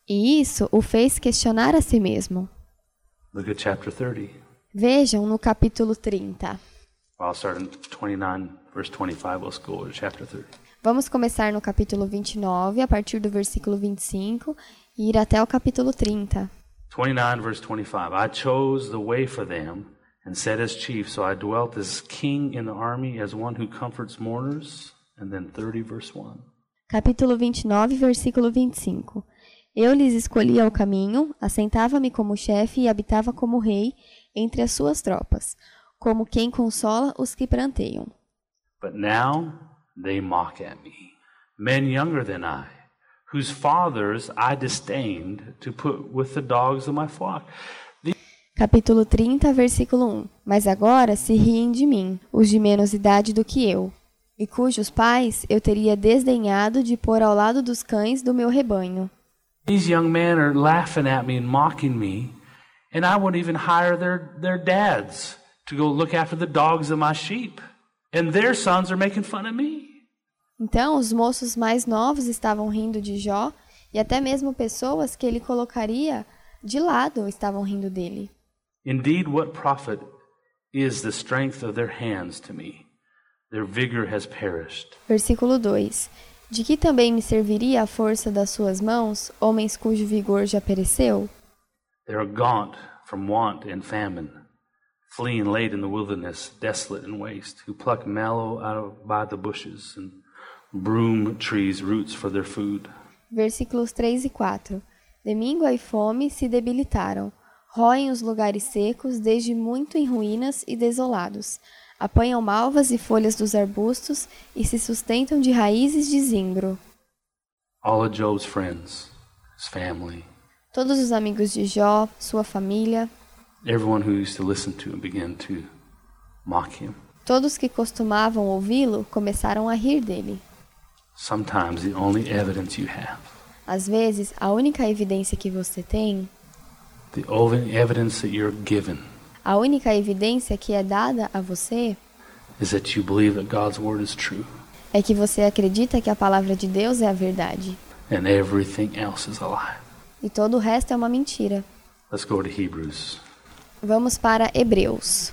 E isso o fez questionar a si mesmo. Look at chapter thirty. Vejam no capítulo trinta. I'll start in twenty-nine, verse twenty-five. Let's go to chapter thirty. Vamos começar no capítulo vinte e nove, a partir do versículo vinte e cinco, e ir até o capítulo trinta. twenty-nine, verse twenty-five. I chose the way for them and sat as chief, so I dwelt as king in the army, as one who comforts mourners. And then thirty, verse one. Capítulo vinte e nove, versículo vinte e cinco. Eu lhes escolhia o caminho, assentava-me como chefe e habitava como rei entre as suas tropas, como quem consola os que pranteiam. But now they mock at me, men younger than I, whose fathers I disdained to put with the dogs of my flock. The... Capítulo trinta, versículo um. Mas agora se riem de mim, os de menos idade do que eu, e cujos pais eu teria desdenhado de pôr ao lado dos cães do meu rebanho. These young men are laughing at me and mocking me, and I won't even hire their, their dads to go look after the dogs of my sheep. And their sons are making fun of me. Então os moços mais novos estavam rindo de Jó, e até mesmo pessoas que ele colocaria de lado estavam rindo dele. Indeed, what profit is the strength of their hands to me? Their vigor has perished. Versículo dois. De que também me serviria a força das suas mãos, homens cujo vigor já pereceu? They are gaunt from want and famine, fleeing late in the wilderness, desolate and waste, who pluck mallow out of by the bushes and broom trees roots for their food. Versículos três e quatro. De míngua e fome se debilitaram, roem os lugares secos, desde muito em ruínas e desolados. Apanham malvas e folhas dos arbustos e se sustentam de raízes de zimbro. All of Job's friends, his family, todos os amigos de Jó, sua família, everyone who used to listen to him began to mock him. Todos que costumavam ouvi-lo começaram a rir dele. Sometimes the only evidence you have, às vezes, a única evidência que você tem, the only evidence that you're given, a única evidência que é dada a você, is that you believe that God's word is true. É que você acredita que a palavra de Deus é a verdade. And everything else is a lie. E todo o resto é uma mentira. Let's go to Hebrews. Vamos para Hebreus.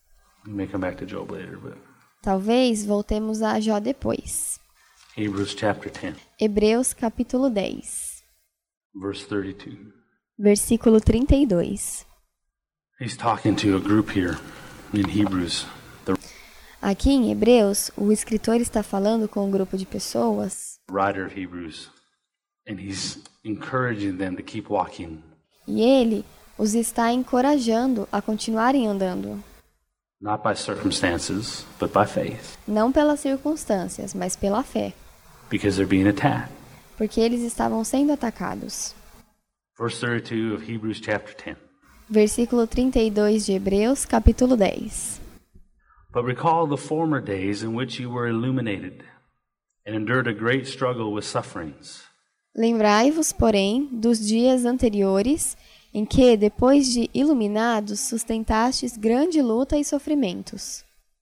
We may come back to Job later, but talvez voltemos a Jó depois. Hebrews chapter ten. Hebreus capítulo dez. Verse thirty-two. Versículo trinta e dois. He's talking to a group here in Hebrews. The Aqui em Hebreus, o escritor está falando com um grupo de pessoas. Writer of Hebrews, and he's encouraging them to keep walking. E ele os está encorajando a continuarem andando. Not by circumstances, but by faith. Não pelas circunstâncias, mas pela fé. Because they're being attacked. Porque eles estavam sendo atacados. Verse thirty-two of Hebrews chapter ten. Versículo trinta e dois de Hebreus, capítulo dez. But recall the former days in which you were illuminated and endured a great struggle with sufferings. Lembrai-vos, porém, dos dias anteriores, em que, depois de iluminados, sustentastes grande luta e sofrimentos.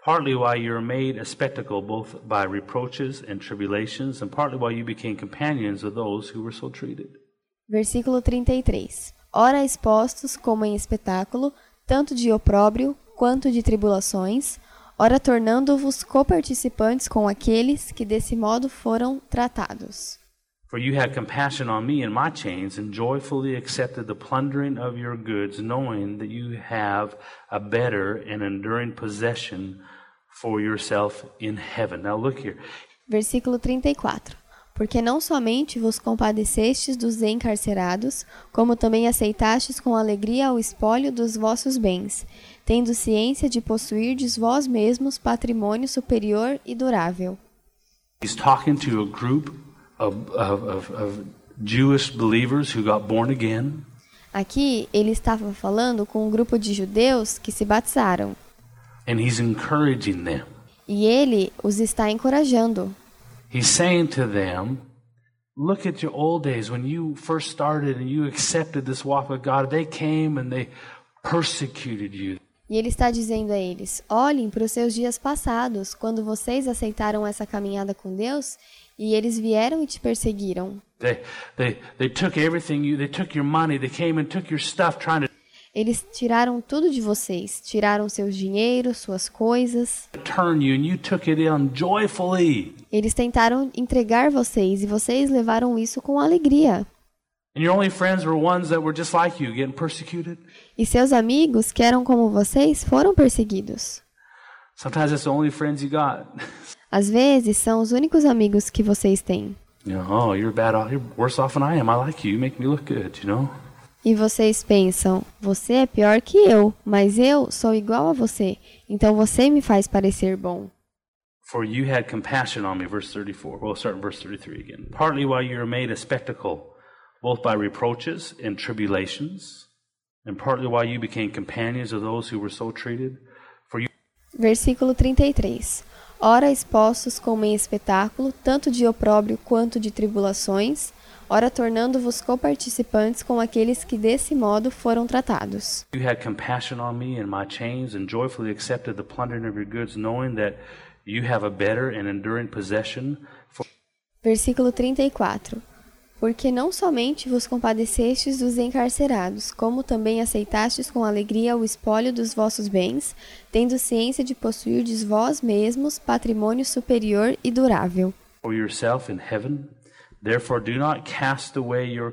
partly why you were made a spectacle both by reproaches and tribulations, and partly why you became companions of those who were so treated. Versículo trinta e três. Ora expostos como em espetáculo, tanto de opróbrio quanto de tribulações, ora tornando-vos coparticipantes com aqueles que desse modo foram tratados. For you had compassion on me and my chains, and joyfully accepted the plundering of your goods, knowing that you have a better and enduring possession for yourself in heaven. Now look here. Versículo trinta e quatro. Porque não somente vos compadecestes dos encarcerados, como também aceitastes com alegria o espólio dos vossos bens, tendo ciência de possuirdes vós mesmos patrimônio superior e durável. He's talking to a group Of, of, of Jewish believers who got born again. Aqui ele estava falando com um grupo de judeus que se batizaram. And he's encouraging them. E ele os está encorajando. He's saying to them, look at your old days when you first started and you accepted this walk with God. They came and they persecuted you. E ele está dizendo a eles, olhem para os seus dias passados, quando vocês aceitaram essa caminhada com Deus, e eles vieram e te perseguiram. They, they, they took everything you, they took your money, they came and took your stuff trying to Eles tiraram tudo de vocês, tiraram seus dinheiros, suas coisas. turn you and you took it in joyfully. Eles tentaram entregar vocês e vocês levaram isso com alegria. And your only friends were ones that were just like you, getting persecuted. E seus amigos, que eram como vocês, foram perseguidos. Sometimes it's the only friends you got. Às vezes, são os únicos amigos que vocês têm. You know, oh, you're bad off, you're worse off than I am. I like you. You make me look good, you know? E vocês pensam, você é pior que eu, mas eu sou igual a você, então você me faz parecer bom. For you had compassion on me, verse thirty-four. We'll start in verse thirty-three again. Partly while you were made a spectacle, both by reproaches and tribulations, and partly while you became companions of those who were so treated. For you... Versículo trinta e três. Ora expostos como em espetáculo, tanto de opróbrio quanto de tribulações, ora tornando-vos coparticipantes com aqueles que desse modo foram tratados. You had compassion on me and my chains, and joyfully accepted the plundering of your goods, knowing that you have a better and enduring possession. For... Versículo trinta e quatro. Porque não somente vos compadecestes dos encarcerados, como também aceitastes com alegria o espólio dos vossos bens, tendo ciência de possuirdes vós mesmos patrimônio superior e durável. For yourself in heaven, therefore do not cast away your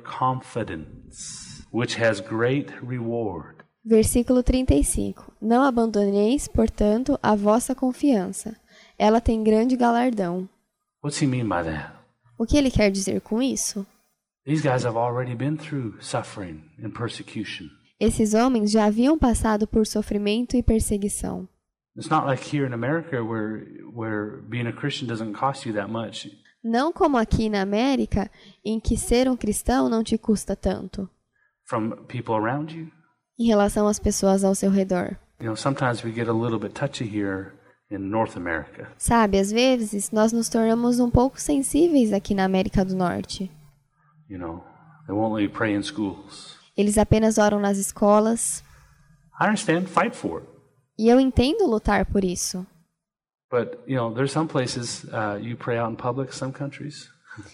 confidence, which has great reward. Versículo trinta e cinco. Não abandoneis, portanto, a vossa confiança. Ela tem grande galardão. What's he mean by that? O que ele quer dizer com isso? These guys have already been through suffering and persecution. Esses homens já haviam passado por sofrimento e perseguição. It's not like here in America where where being a Christian doesn't cost you that much. Não como aqui na América, em que ser um cristão não te custa tanto. From people around you. Em relação às pessoas ao seu redor. You know, sometimes we get a little bit touchy here in North America. Sabe, às vezes nós nos tornamos um pouco sensíveis aqui na América do Norte. You know, they won't let you pray in schools. Eles apenas oram nas escolas. I understand, fight for it. E eu entendo lutar por isso. But, you know, there's some places uh, you pray out in public, some countries.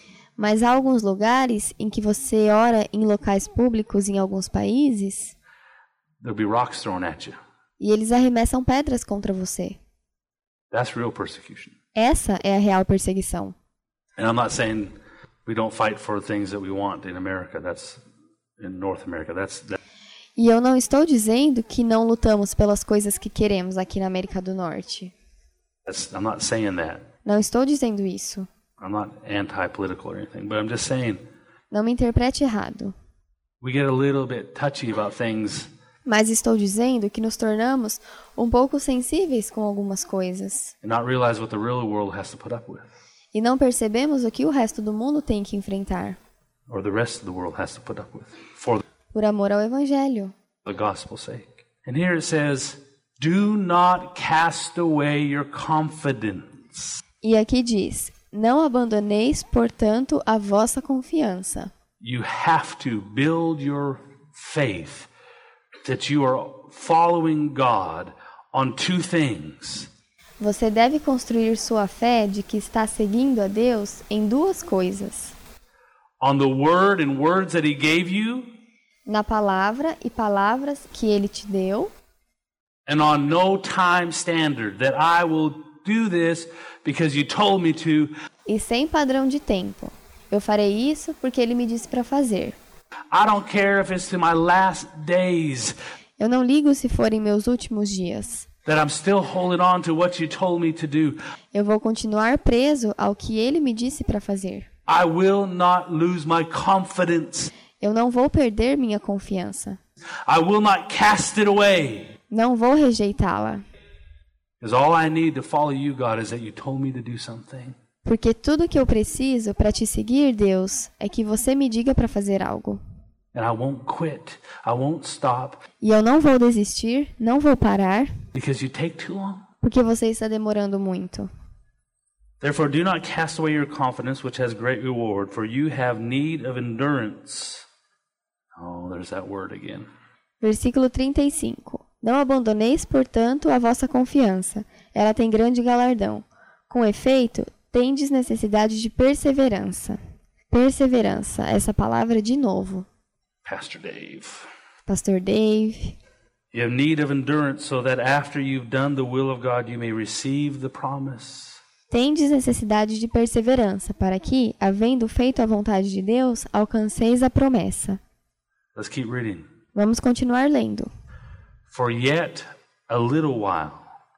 Mas há alguns lugares em que você ora em locais públicos em alguns países. There'll be rocks thrown at you. E eles arremessam pedras contra você. That's real persecution. Essa é a real perseguição. And I'm not saying we don't fight for things that we want in America. That's in North America. That's that. E eu não estou dizendo que não lutamos pelas coisas que queremos aqui na América do Norte. That's, I'm not saying that. Não estou dizendo isso. I'm not anti-political or anything, but I'm just saying. Não me interprete errado. We get a little bit touchy about things. Mas estou dizendo que nos tornamos um pouco sensíveis com algumas coisas. And not realize what the real world has to put up with. E não percebemos o que o resto do mundo tem que enfrentar. Or the rest of the world has to put up with. For Por amor ao Evangelho. the gospel's sake. And here it says, do not cast away your confidence. E aqui diz, não abandoneis, portanto, a vossa confiança. You have to build your faith that you are following God on two things. Você deve construir sua fé de que está seguindo a Deus em duas coisas: on the word and words that he gave you, na palavra e palavras que ele te deu, and on no time standard, that I will do this because you told me to. e sem padrão de tempo. Eu farei isso porque ele me disse para fazer. I don't care if it's to my last days, Eu não ligo se forem meus últimos dias. that I'm still holding on to what you told me to do. Eu vou continuar preso ao que ele me disse para fazer. I will not lose my confidence. Eu não vou perder minha confiança. I will not cast it away. Não vou rejeitá-la. Because all I need to follow you, God, is that you told me to do something. Porque tudo que eu preciso para te seguir, Deus, é que você me diga para fazer algo. And I won't quit. I won't stop E eu não vou desistir, não vou parar, because you take too long. porque você está demorando muito. Therefore, do not cast away your confidence, which has great reward, for you have need of endurance. Oh, there's that word again. Versículo trinta e cinco. Não abandoneis, portanto, a vossa confiança. Ela tem grande galardão. Com efeito, tendes necessidade de perseverança. Perseverança, essa palavra de novo. Pastor Dave. Pastor Dave. You have need of endurance so that after you've done the will of God, you may receive the promise. Tendes necessidade de perseverança, para que, havendo feito a vontade de Deus, alcanceis a promessa. Let's keep reading. Vamos continuar lendo. For yet a little while,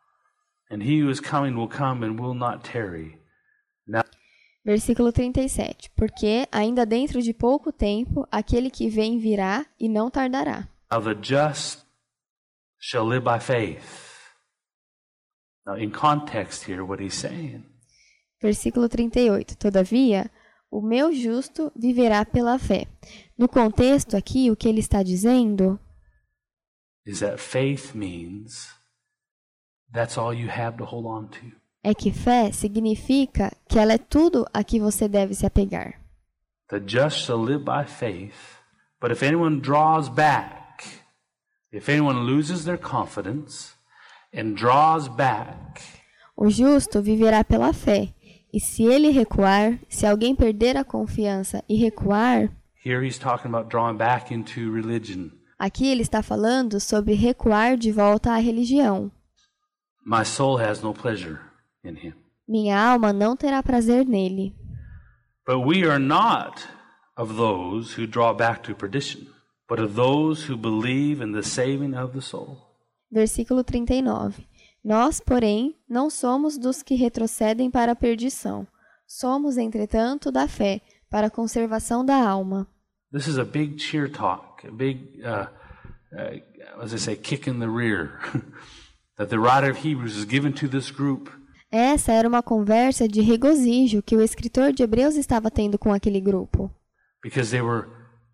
and he who is coming will come and will not tarry. Now, Versículo trinta e sete. Porque, ainda dentro de pouco tempo, aquele que vem virá e não tardará. now the just shall live by faith. Now, in context here, what he's saying Versículo trinta e oito. Todavia, o meu justo viverá pela fé. No contexto aqui, o que ele está dizendo is that faith means that's all you have to hold on to. é que fé significa que ela é tudo a que você deve se apegar. The just shall live by faith, but if anyone draws back, if anyone loses their confidence and draws back, O justo viverá pela fé. E se ele recuar, se alguém perder a confiança e recuar, here he's talking about drawing back into religion. aqui ele está falando sobre recuar de volta à religião. My soul has no pleasure in him. Minha alma não terá prazer nele. But we are not of those who draw back to perdition, but of those who believe in the saving of the soul. Versículo trinta e nove. Nós, porém, não somos dos que retrocedem para a perdição. Somos, entretanto, da fé, para a conservação da alma. This is a big cheer talk, a big, uh, uh, as I say, kick in the rear that the writer of Hebrews is given to this group. Essa era uma conversa de regozijo que o escritor de Hebreus estava tendo com aquele grupo. Because they were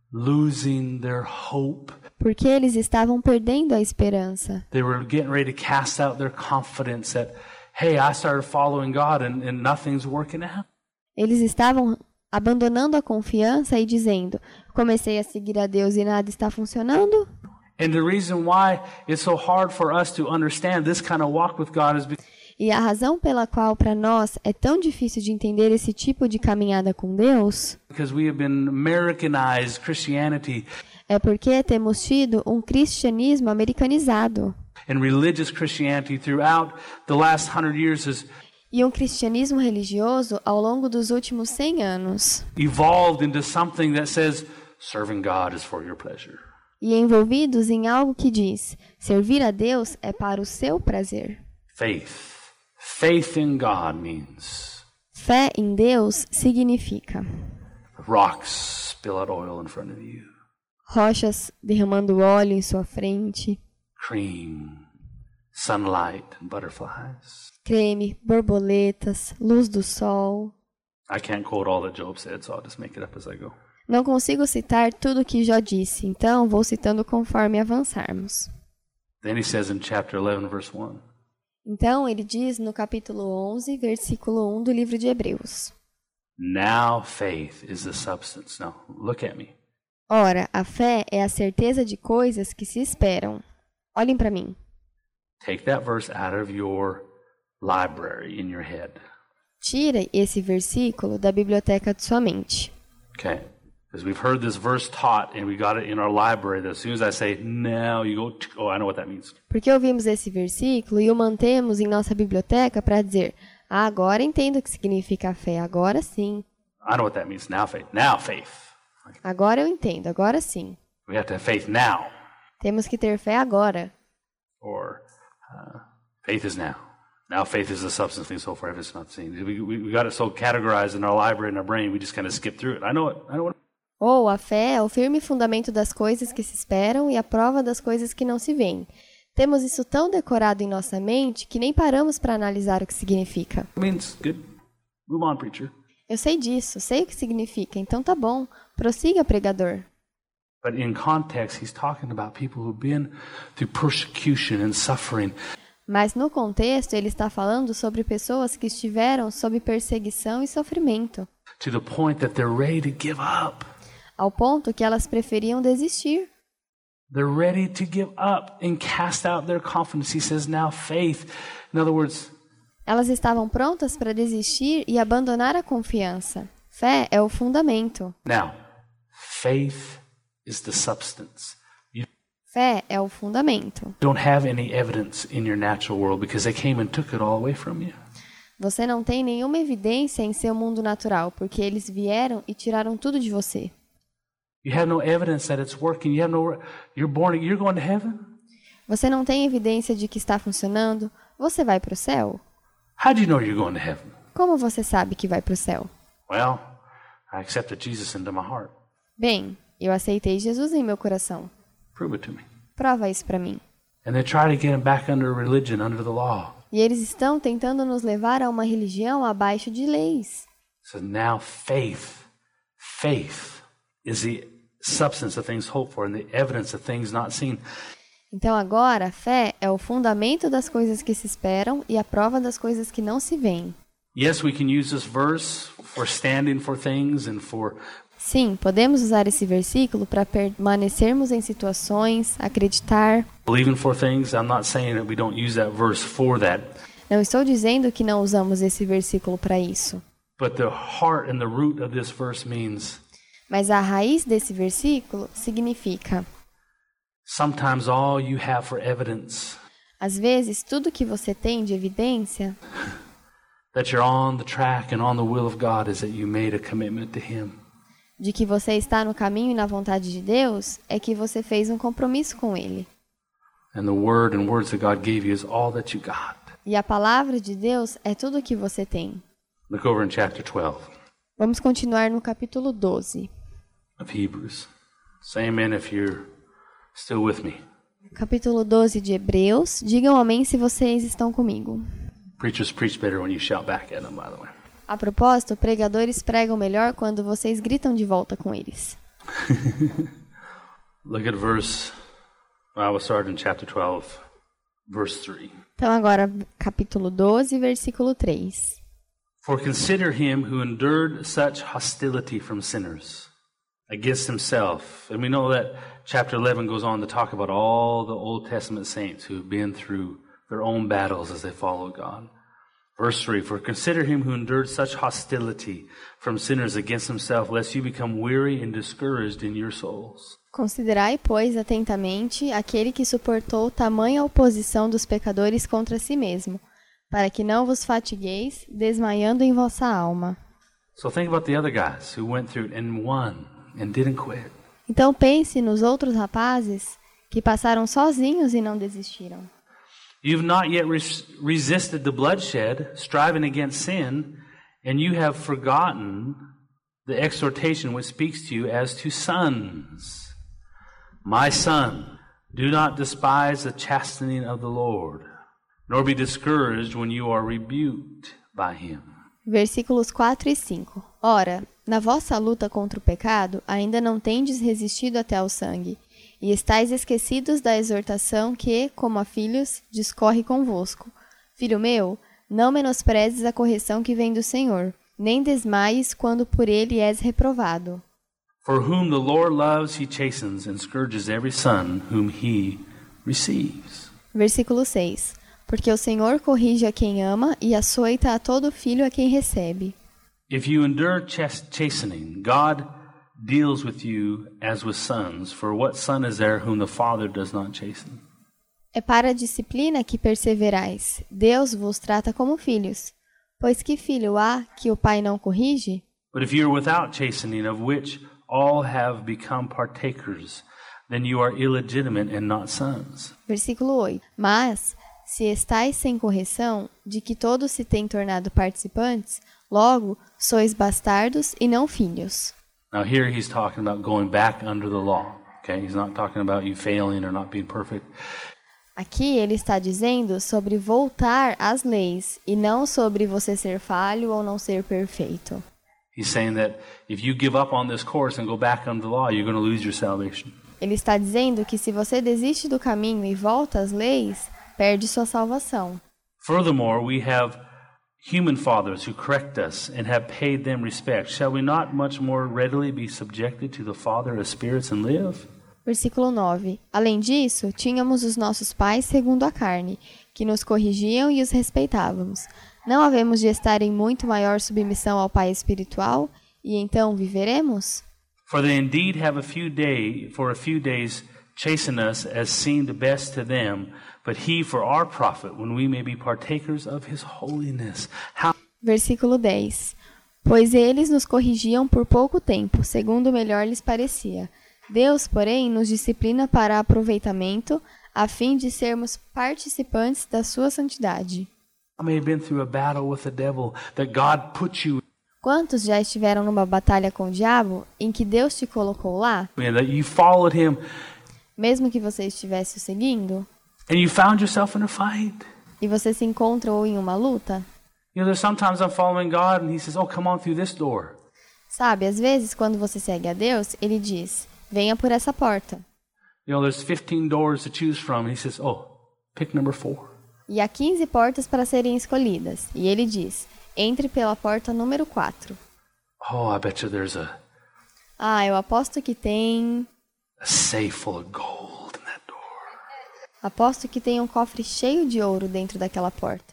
losing their hope. Porque eles estavam perdendo a esperança. They were getting ready to cast out their confidence that, hey, I started following God and, and nothing's working out. Eles estavam abandonando a confiança e dizendo, comecei a seguir a Deus e nada está funcionando. And the reason why it's so hard for us to understand this kind of walk with God is because E a razão pela qual para nós é tão difícil de entender esse tipo de caminhada com Deus we have been Americanized Christianity é porque temos tido um cristianismo americanizado. and religious Christianity throughout the last hundred years has E um cristianismo religioso ao longo dos últimos cem anos. evolved into something that says serving God is for your pleasure. E envolvidos em algo que diz, servir a Deus é para o seu prazer. Faith. Faith in God means Fé em Deus significa rocks spill out oil in front of you. rochas derramando óleo em sua frente, Cream, sunlight, and butterflies. creme, borboletas, luz do sol. I can't quote all that Job said, so I'll just make it up as I go. Não consigo citar tudo o que Jó disse, então vou citando conforme avançarmos. Then he says in chapter eleven, verse one, Então ele diz no capítulo onze, versículo um do livro de Hebreus. now faith is the substance. Now, look at me. Ora, a fé é a certeza de coisas que se esperam. Olhem para mim. Take that verse out of your library in your head. Tire esse versículo da biblioteca de sua mente. Okay? Because we've heard this verse taught and we got it in our library that as soon as I say now, you go, oh, I know what that means. Porque ouvimos esse versículo e o mantemos em nossa biblioteca para dizer, ah, agora entendo o que significa fé, agora sim. I know what that means. Now faith. Now faith. Agora eu entendo, agora sim. We have to have faith now. Temos que ter fé agora. Or uh, faith is now. Now faith is the substance of things so far it's not seen. We, we, we got it so categorized in our library, in our brain, we just kind of skip through it. I know it. I know it. Ou a fé é o firme fundamento das coisas que se esperam e a prova das coisas que não se veem. Temos isso tão decorado em nossa mente que nem paramos para analisar o que significa. It means good. Move on, preacher. Eu sei disso, sei o que significa, então tá bom. Prossiga, pregador. But in context, he's talking about people who've been through persecution and suffering. Mas no contexto, ele está falando sobre pessoas que estiveram sob perseguição e sofrimento. To the point that they're ready to give up. Ao ponto que elas preferiam desistir. They're ready to give up and cast out their confidence. He says, now faith. In other words, elas estavam prontas para desistir e abandonar a confiança. Fé é o fundamento. Now, faith is the substance. You Fé é o fundamento. don't have any evidence in your natural world because they came and took it all away from you. Você não tem nenhuma evidência em seu mundo natural, porque eles vieram e tiraram tudo de você. You have no evidence that it's working. You have no. You're born. You're going to heaven. Você não tem evidência de que está funcionando? Você vai para o céu? How do you know you're going to heaven? Como você sabe que vai para o céu? Well, I accepted Jesus into my heart. Bem, eu aceitei Jesus em meu coração. Prove it to me. Prova isso para mim. And they try to get him back under religion, under the law. E eles estão tentando nos levar a uma religião abaixo de leis. So now faith, faith is the substance of things hoped for and the evidence of things not seen. Então agora, a fé é o fundamento das coisas que se esperam e a prova das coisas que não se veem. Yes, we can use this verse for standing for things and for Sim, podemos usar esse versículo para permanecermos em situações, acreditar. believing for things. I'm not saying that we don't use that verse for that. Não estou dizendo que não usamos esse versículo para isso. But the heart and the root of this verse means Mas a raiz desse versículo significa: sometimes all you have for evidence às vezes, tudo que você tem de evidência that you're on the track and on the will of God is that you made a commitment to Him. de que você está no caminho e na vontade de Deus é que você fez um compromisso com Ele. And the word and words that God gave you is all that you got. E a palavra de Deus é tudo o que você tem. Look over in chapter twelve Vamos continuar no capítulo doze. of Hebrews. Say amen if you're still with me. Capítulo doze de Hebreus. Digam amém se vocês estão comigo. Preachers preach better when you shout back at them, by the way. A propósito, pregadores pregam melhor quando vocês gritam de volta com eles. Look at verse, I will start in chapter twelve, verse three. Então agora, capítulo doze, versículo três. For consider him who endured such hostility from sinners against himself. And we know that chapter eleven goes on to talk about all the Old Testament saints who have been through their own battles as they follow God. Verse three, for consider him who endured such hostility from sinners against himself, lest you become weary and discouraged in your souls. Considerai, pois, atentamente aquele que suportou tamanha oposição dos pecadores contra si mesmo, para que não vos fatigueis, desmaiando em vossa alma. So think about the other guys who went through it and won and didn't quit. Então pense nos outros rapazes que passaram sozinhos e não desistiram. You've not yet res- resisted the bloodshed, striving against sin, and you have forgotten the exhortation which speaks to you as to sons. My son, do not despise the chastening of the Lord, nor be discouraged when you are rebuked by him. Versículos quatro e cinco. Ora, na vossa luta contra o pecado, ainda não tendes resistido até ao sangue, e estáis esquecidos da exortação que, como a filhos, discorre convosco. Filho meu, não menosprezes a correção que vem do Senhor, nem desmaies quando por ele és reprovado. For whom the Lord loves, he chastens and scourges every son whom he receives. Versículo seis. Porque o Senhor corrige a quem ama e açoita a todo filho a quem recebe. If you endure chas- chastening, God deals with you as with sons. For what son is there whom the Father does not chasten? É para a disciplina que perseverais. Deus vos trata como filhos. Pois que filho há que o pai não corrige? But if you are without chastening, of which all have become partakers, then you are illegitimate and not sons. Versículo oito. Mas, se estáis sem correção, de que todos se têm tornado participantes, logo sois bastardos e não filhos. Now here he's talking about going back under the law. Okay, he's not talking about you failing or not being perfect. Aqui ele está dizendo sobre voltar às leis e não sobre você ser falho ou não ser perfeito. He's saying that if you give up on this course and go back under the law, you're going to lose your salvation. Ele está dizendo que se você desiste do caminho e volta às leis, perde sua salvação. Furthermore, we have human fathers who correct us and have paid them respect. Shall we not much more readily be subjected to the Father of spirits and live? Versículo nove. Além disso, tínhamos os nossos pais segundo a carne, que nos corrigiam e os respeitávamos. Não havemos de estar em muito maior submissão ao Pai espiritual, e então viveremos? For they indeed have a few day, for a few days chasten us as seemed best to them, but he for our profit, when we may be partakers of his holiness. How... Versículo dez. Pois eles nos corrigiam por pouco tempo, segundo melhor lhes parecia. Deus, porém, nos disciplina para aproveitamento, a fim de sermos participantes da sua santidade. I may have been through a battle with the devil that God put you Quantos já estiveram numa batalha com o diabo em que Deus te colocou lá, in, that you followed him, mesmo que você estivesse o seguindo, and you found yourself in a fight? e você se encontrou em uma luta? You know, there's sometimes I'm following God and he says, oh, come on through this door. Sabe, às vezes, quando você segue a Deus, ele diz, venha por essa porta. You know, there's fifteen doors to choose from. And he says, oh, pick number four. E há quinze portas para serem escolhidas. E ele diz, entre pela porta número quatro. Oh, I bet you there's a, Ah, eu aposto que tem... a safe full of gold in that door. Aposto que tem um cofre cheio de ouro dentro daquela porta.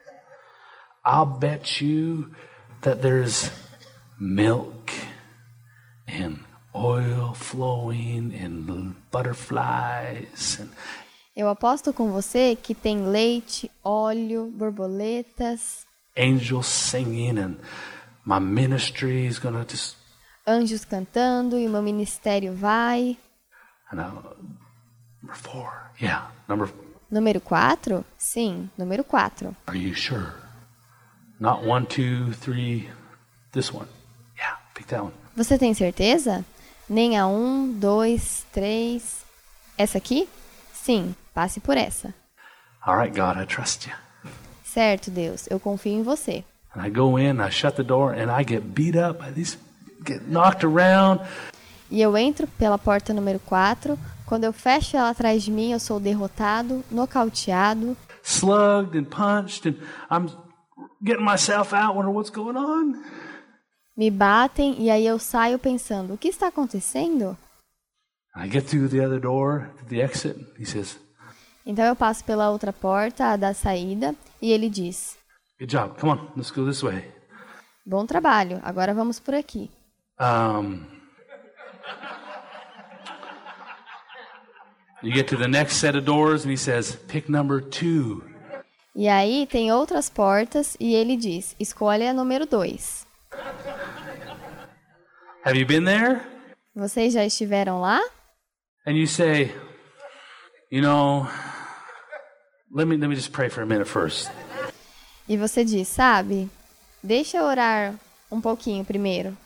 I'll bet you that there's milk and oil flowing and butterflies. And Eu aposto com você que tem leite, óleo, borboletas, angels singing, and my ministry is going to just... anjos cantando e o meu ministério vai. And I, number four. Yeah, number... Número quatro? Sim, número quatro. Are you sure? Not one, two, three, this one. Yeah, pick that one. Você tem certeza? Nem a um, dois, três. Essa aqui? Sim, passe por essa. All right, God, I trust you. Certo, Deus, eu confio em você. And I go in, I shut the door, and I get beat up. I just get knocked around. E eu entro pela porta número quatro. Quando eu fecho ela atrás de mim, eu sou derrotado, nocauteado. Slugged and punched, and I'm getting myself out, wondering what's going on. Me batem e aí eu saio pensando, o que está acontecendo? I get through the other door, to the exit. He says, Então eu passo pela outra porta, a da saída, e ele diz, good job, come on, let's go this way. bom trabalho, agora vamos por aqui. Um, you get to the next set of doors, and he says, pick number two. E aí tem outras portas e ele diz, escolha a número dois. Have you been there? Vocês já estiveram lá? And you say, you know, let me let me just pray for a minute first. E você diz, sabe, deixa eu orar um pouquinho primeiro.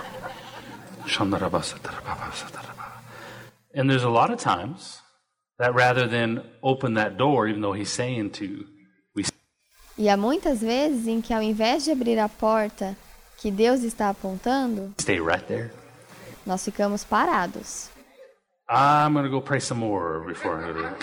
And there's a lot of times that rather than open that door, even though he's saying to, we E há muitas vezes em que ao invés de abrir a porta que Deus está apontando, stay right there. nós ficamos parados. I'm going to go pray some more before I go there.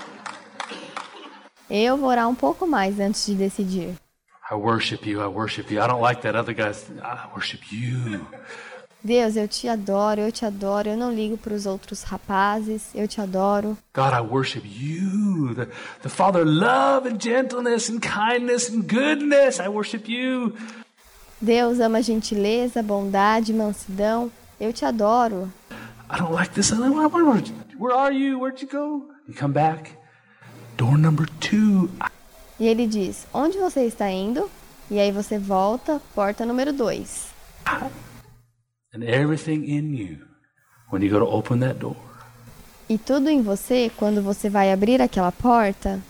Eu vou orar um pouco mais antes de decidir. I worship you, I worship you. I don't like that other guy. I worship you. Deus, eu te adoro, eu te adoro, eu não ligo para os outros rapazes, eu te adoro. God, I worship you, the, the Father of love and gentleness and kindness and goodness. I worship you. Deus ama gentileza, bondade, mansidão, eu te adoro. I don't like this. Where are you? Where'd you go? You come back. Door number two. E ele diz, onde você está indo? E aí você volta, porta número dois. And everything in you, when you go to open that door. E tudo em você, quando você vai abrir aquela porta.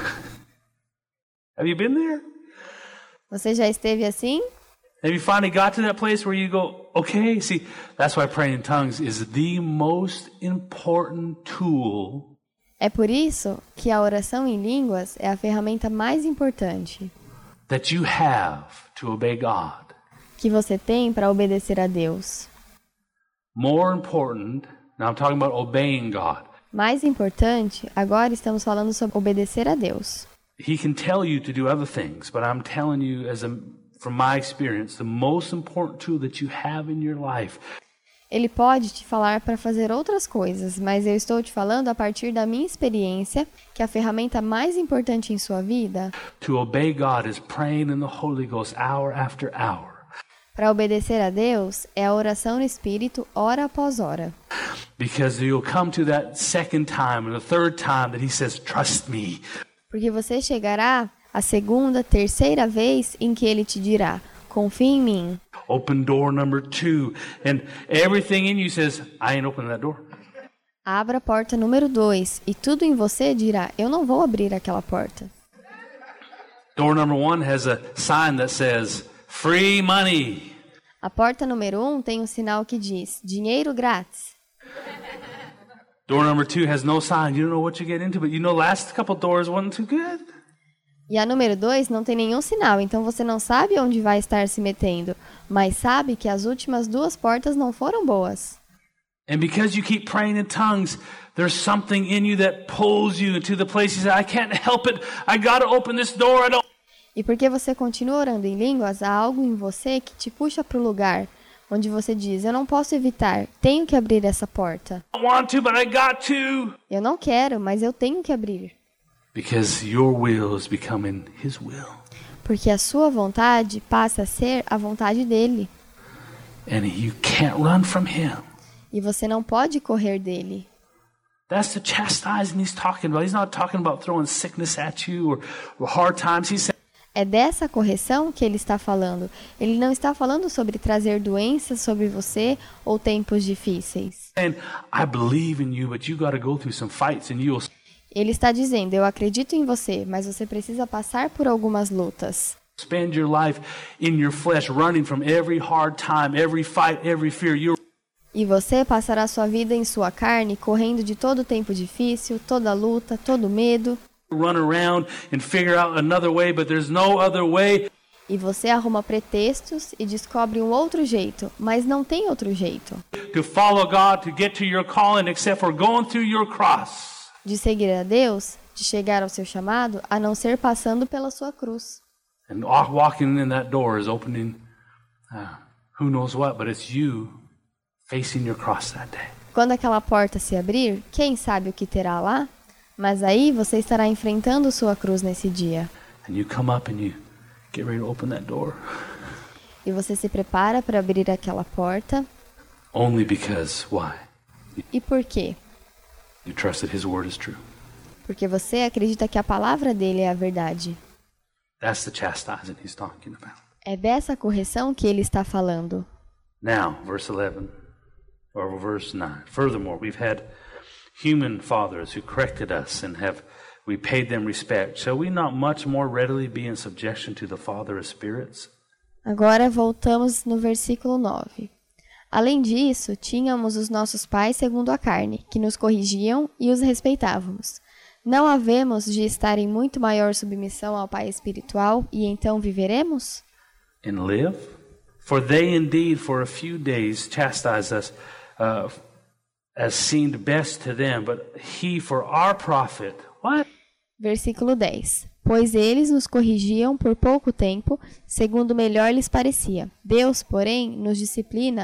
Have you been there? Você já esteve assim? Have you finally got to that place where you go, okay, see, that's why praying in tongues is the most important tool. É por isso que a oração em línguas é a ferramenta mais importante that you have to obey God. Que você tem para obedecer a Deus. More important, now I'm talking about obeying God. Mais importante, agora estamos falando sobre obedecer a Deus. He can tell you to do other things, but I'm telling you as a from my experience, the most important tool that you have in your life. Ele pode te falar para fazer outras coisas, mas eu estou te falando a partir da minha experiência que a ferramenta mais importante em sua vida to obey God is praying in the Holy Ghost hour after hour. Para obedecer a Deus é a oração no Espírito hora após hora. Because you'll come to that second time or the third time that he says, trust me. Porque você chegará a segunda, terceira vez em que ele te dirá, confie em mim. Open door number two. And everything in you says, I ain't opening that door. Abra a porta número dois. E tudo em você dirá, eu não vou abrir aquela porta. Door number one has a sign that says, free money. A porta número um tem um sinal que diz, dinheiro grátis. Door number two has no sign. You don't know what you get into, but you know last couple doors wasn't too good. E a número dois não tem nenhum sinal, então você não sabe onde vai estar se metendo, mas sabe que as últimas duas portas não foram boas. And because you keep praying in tongues, there's something in you that pulls you into the place you say, I can't help it. I gotta open this door. I don't. E porque você continua orando em línguas, há algo em você que te puxa para o lugar onde você diz, eu não posso evitar, tenho que abrir essa porta. I want to, but I got to. Eu não quero, mas eu tenho que abrir. Because your will is becoming his will. Porque a sua vontade passa a ser a vontade dele. And you can't run from him. E você não pode correr dele. That's the chastising he's talking about. He's not talking about throwing sickness at you or, or hard times. He's saying, é dessa correção que ele está falando. Ele não está falando sobre trazer doenças sobre você ou tempos difíceis. And I believe in you, but you got to go through some fights and you'll. Ele está dizendo, eu acredito em você, mas você precisa passar por algumas lutas. Spend your life in your flesh, running from every hard time, every fight, every fear. You're... E você passará sua vida em sua carne, correndo de todo tempo difícil, toda luta, todo medo. Run around and figure out another way, but there's no other way. E você arruma pretextos e descobre um outro jeito, mas não tem outro jeito. To follow God, to get to your calling, except for going through your cross. De seguir a Deus, de chegar ao seu chamado, a não ser passando pela sua cruz. And walking in that door is opening, uh, who knows what, but it's you facing your cross that day. Quando aquela porta se abrir, quem sabe o que terá lá? Mas aí você estará enfrentando sua cruz nesse dia. And you come up and you get ready to open that door. E você se prepara para abrir aquela porta. Only because why? E por quê? You trust that his word is true. Porque você acredita que a palavra dele é a verdade. That's the chastising he's talking about. É dessa correção que ele está falando. Now, verse eleven, or verse nine. Furthermore, we've had human fathers who corrected us and have we paid them respect. Shall we not much more readily be in subjection to the Father of spirits? Agora voltamos no versículo nove. Além disso, tínhamos os nossos pais segundo a carne, que nos corrigiam e os respeitávamos. Não havemos de estar em muito maior submissão ao Pai espiritual e então viveremos? And live? For they indeed for a few days chastised us uh, as seemed best to them, but he for our profit. What? Versículo dez. Pois eles nos corrigiam por pouco tempo, segundo melhor lhes parecia. Deus, porém, nos disciplina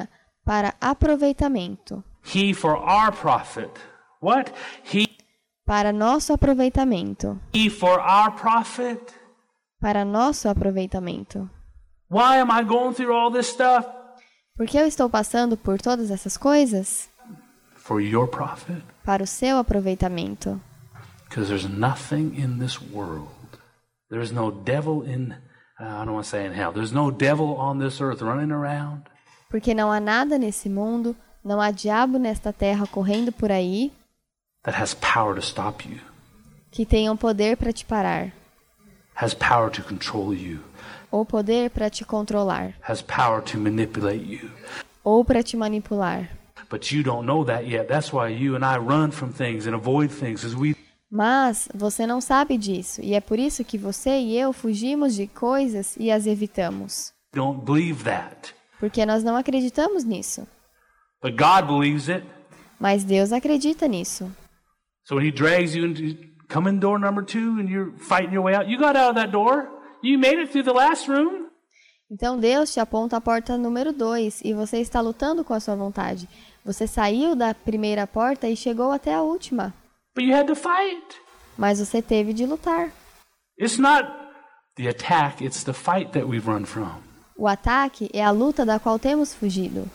para aproveitamento. He for our profit. What? He Para nosso aproveitamento. He for our profit. Para nosso aproveitamento. Why am I going through all this stuff? Por que eu estou passando por todas essas coisas? For your profit. Para o seu aproveitamento. Because there's nothing in this world. There's no devil in, uh, I don't want to say in hell. There's no devil on this earth running around. Porque não há nada nesse mundo, não há diabo nesta terra correndo por aí that has power to stop you. Que tenham poder para te parar. Has power to control you. Ou poder para te controlar. Has power to manipulate you. Ou para te manipular. But you don't know that yet. That's why you and I run from things and avoid things as we Mas você não sabe disso, e é por isso que você e eu fugimos de coisas e as evitamos. don't believe that. Porque nós não acreditamos nisso. But God believes it. Mas Deus acredita nisso. So when he drags you into come in door number two and you're fighting your way out, you got out of that door. You made it through the last room. Então Deus te aponta a porta número dois e você está lutando com a sua vontade. Você saiu da primeira porta e chegou até a última. But you had to fight. Mas você teve de lutar. It's not the attack, it's the fight that we've run from. O ataque é a luta da qual temos fugido.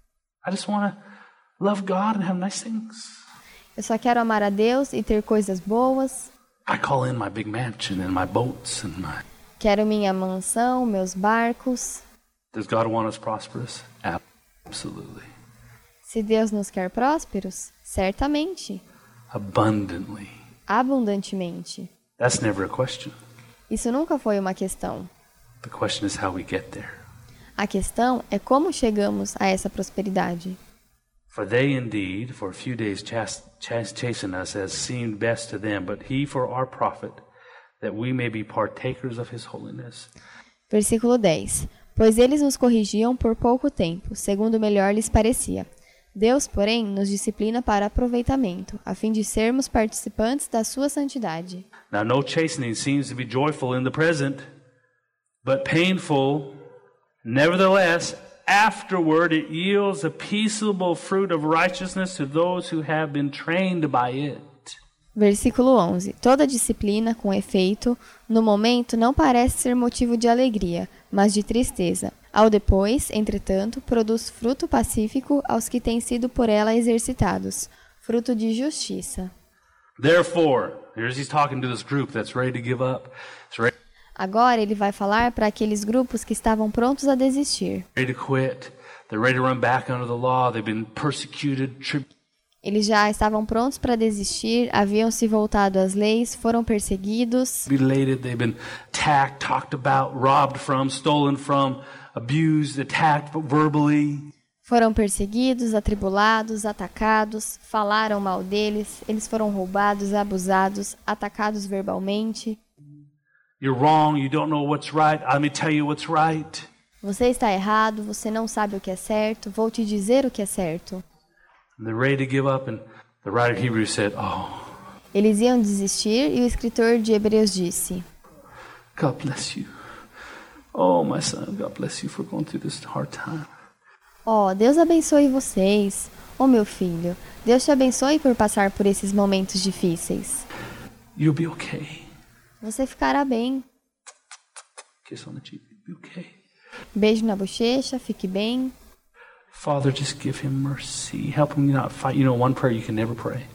I just want to love God and have nice things. Eu só quero amar a Deus e ter coisas boas. I call in my big mansion and my boats and my... Quero minha mansão, meus barcos. Does God want us prosperous? Absolutely. Se Deus nos quer prósperos, certamente. Abundantly. Abundantemente. That's never a question. Isso nunca foi uma questão. The question is how we get there. A questão é como chegamos a essa prosperidade. For they indeed, for a few days, chas- chas- chasten us as seemed best to them, but he for our profit, that we may be partakers of his holiness. Versículo dez. Pois eles nos corrigiam por pouco tempo, segundo melhor lhes parecia. Deus, porém, nos disciplina para aproveitamento, a fim de sermos participantes da sua santidade. Now no chastening seems to be joyful in the present, but painful. Nevertheless, afterward it yields a peaceable fruit of righteousness to those who have been trained by it. Versículo onze. Toda disciplina, com efeito, no momento não parece ser motivo de alegria, mas de tristeza. Ao depois, entretanto, produz fruto pacífico aos que têm sido por ela exercitados, fruto de justiça. Therefore, here's he's talking to this group that's ready to give up. It's ready, Agora ele vai falar para aqueles grupos que estavam prontos a desistir. ready to quit. They're ready to run back under the law. They've been persecuted, tri- Eles já estavam prontos para desistir, haviam se voltado às leis, foram perseguidos, tribulated. They've been attacked, talked about, robbed from, stolen from, abused, attacked verbally. foram perseguidos, atribulados, atacados, falaram mal deles, eles foram roubados, abusados, atacados verbalmente. You're wrong. You don't know what's right. Let me tell you what's right. Você está errado, você não sabe o que é certo, vou te dizer o que é certo. And they're ready to give up, and the writer of Hebrews said, oh, Eles iam desistir e o escritor de Hebreus disse: God bless you. Oh, my son, God bless you for going through this hard time. Ó, oh, Deus abençoe vocês. Ó, oh, meu filho, Deus te abençoe por passar por esses momentos difíceis. You'll be okay. Você ficará bem. Kiss on the cheek. You'll be okay. Beijo na bochecha, fique bem. Father, just give him mercy. Help him not fight. You know, one prayer you can never pray.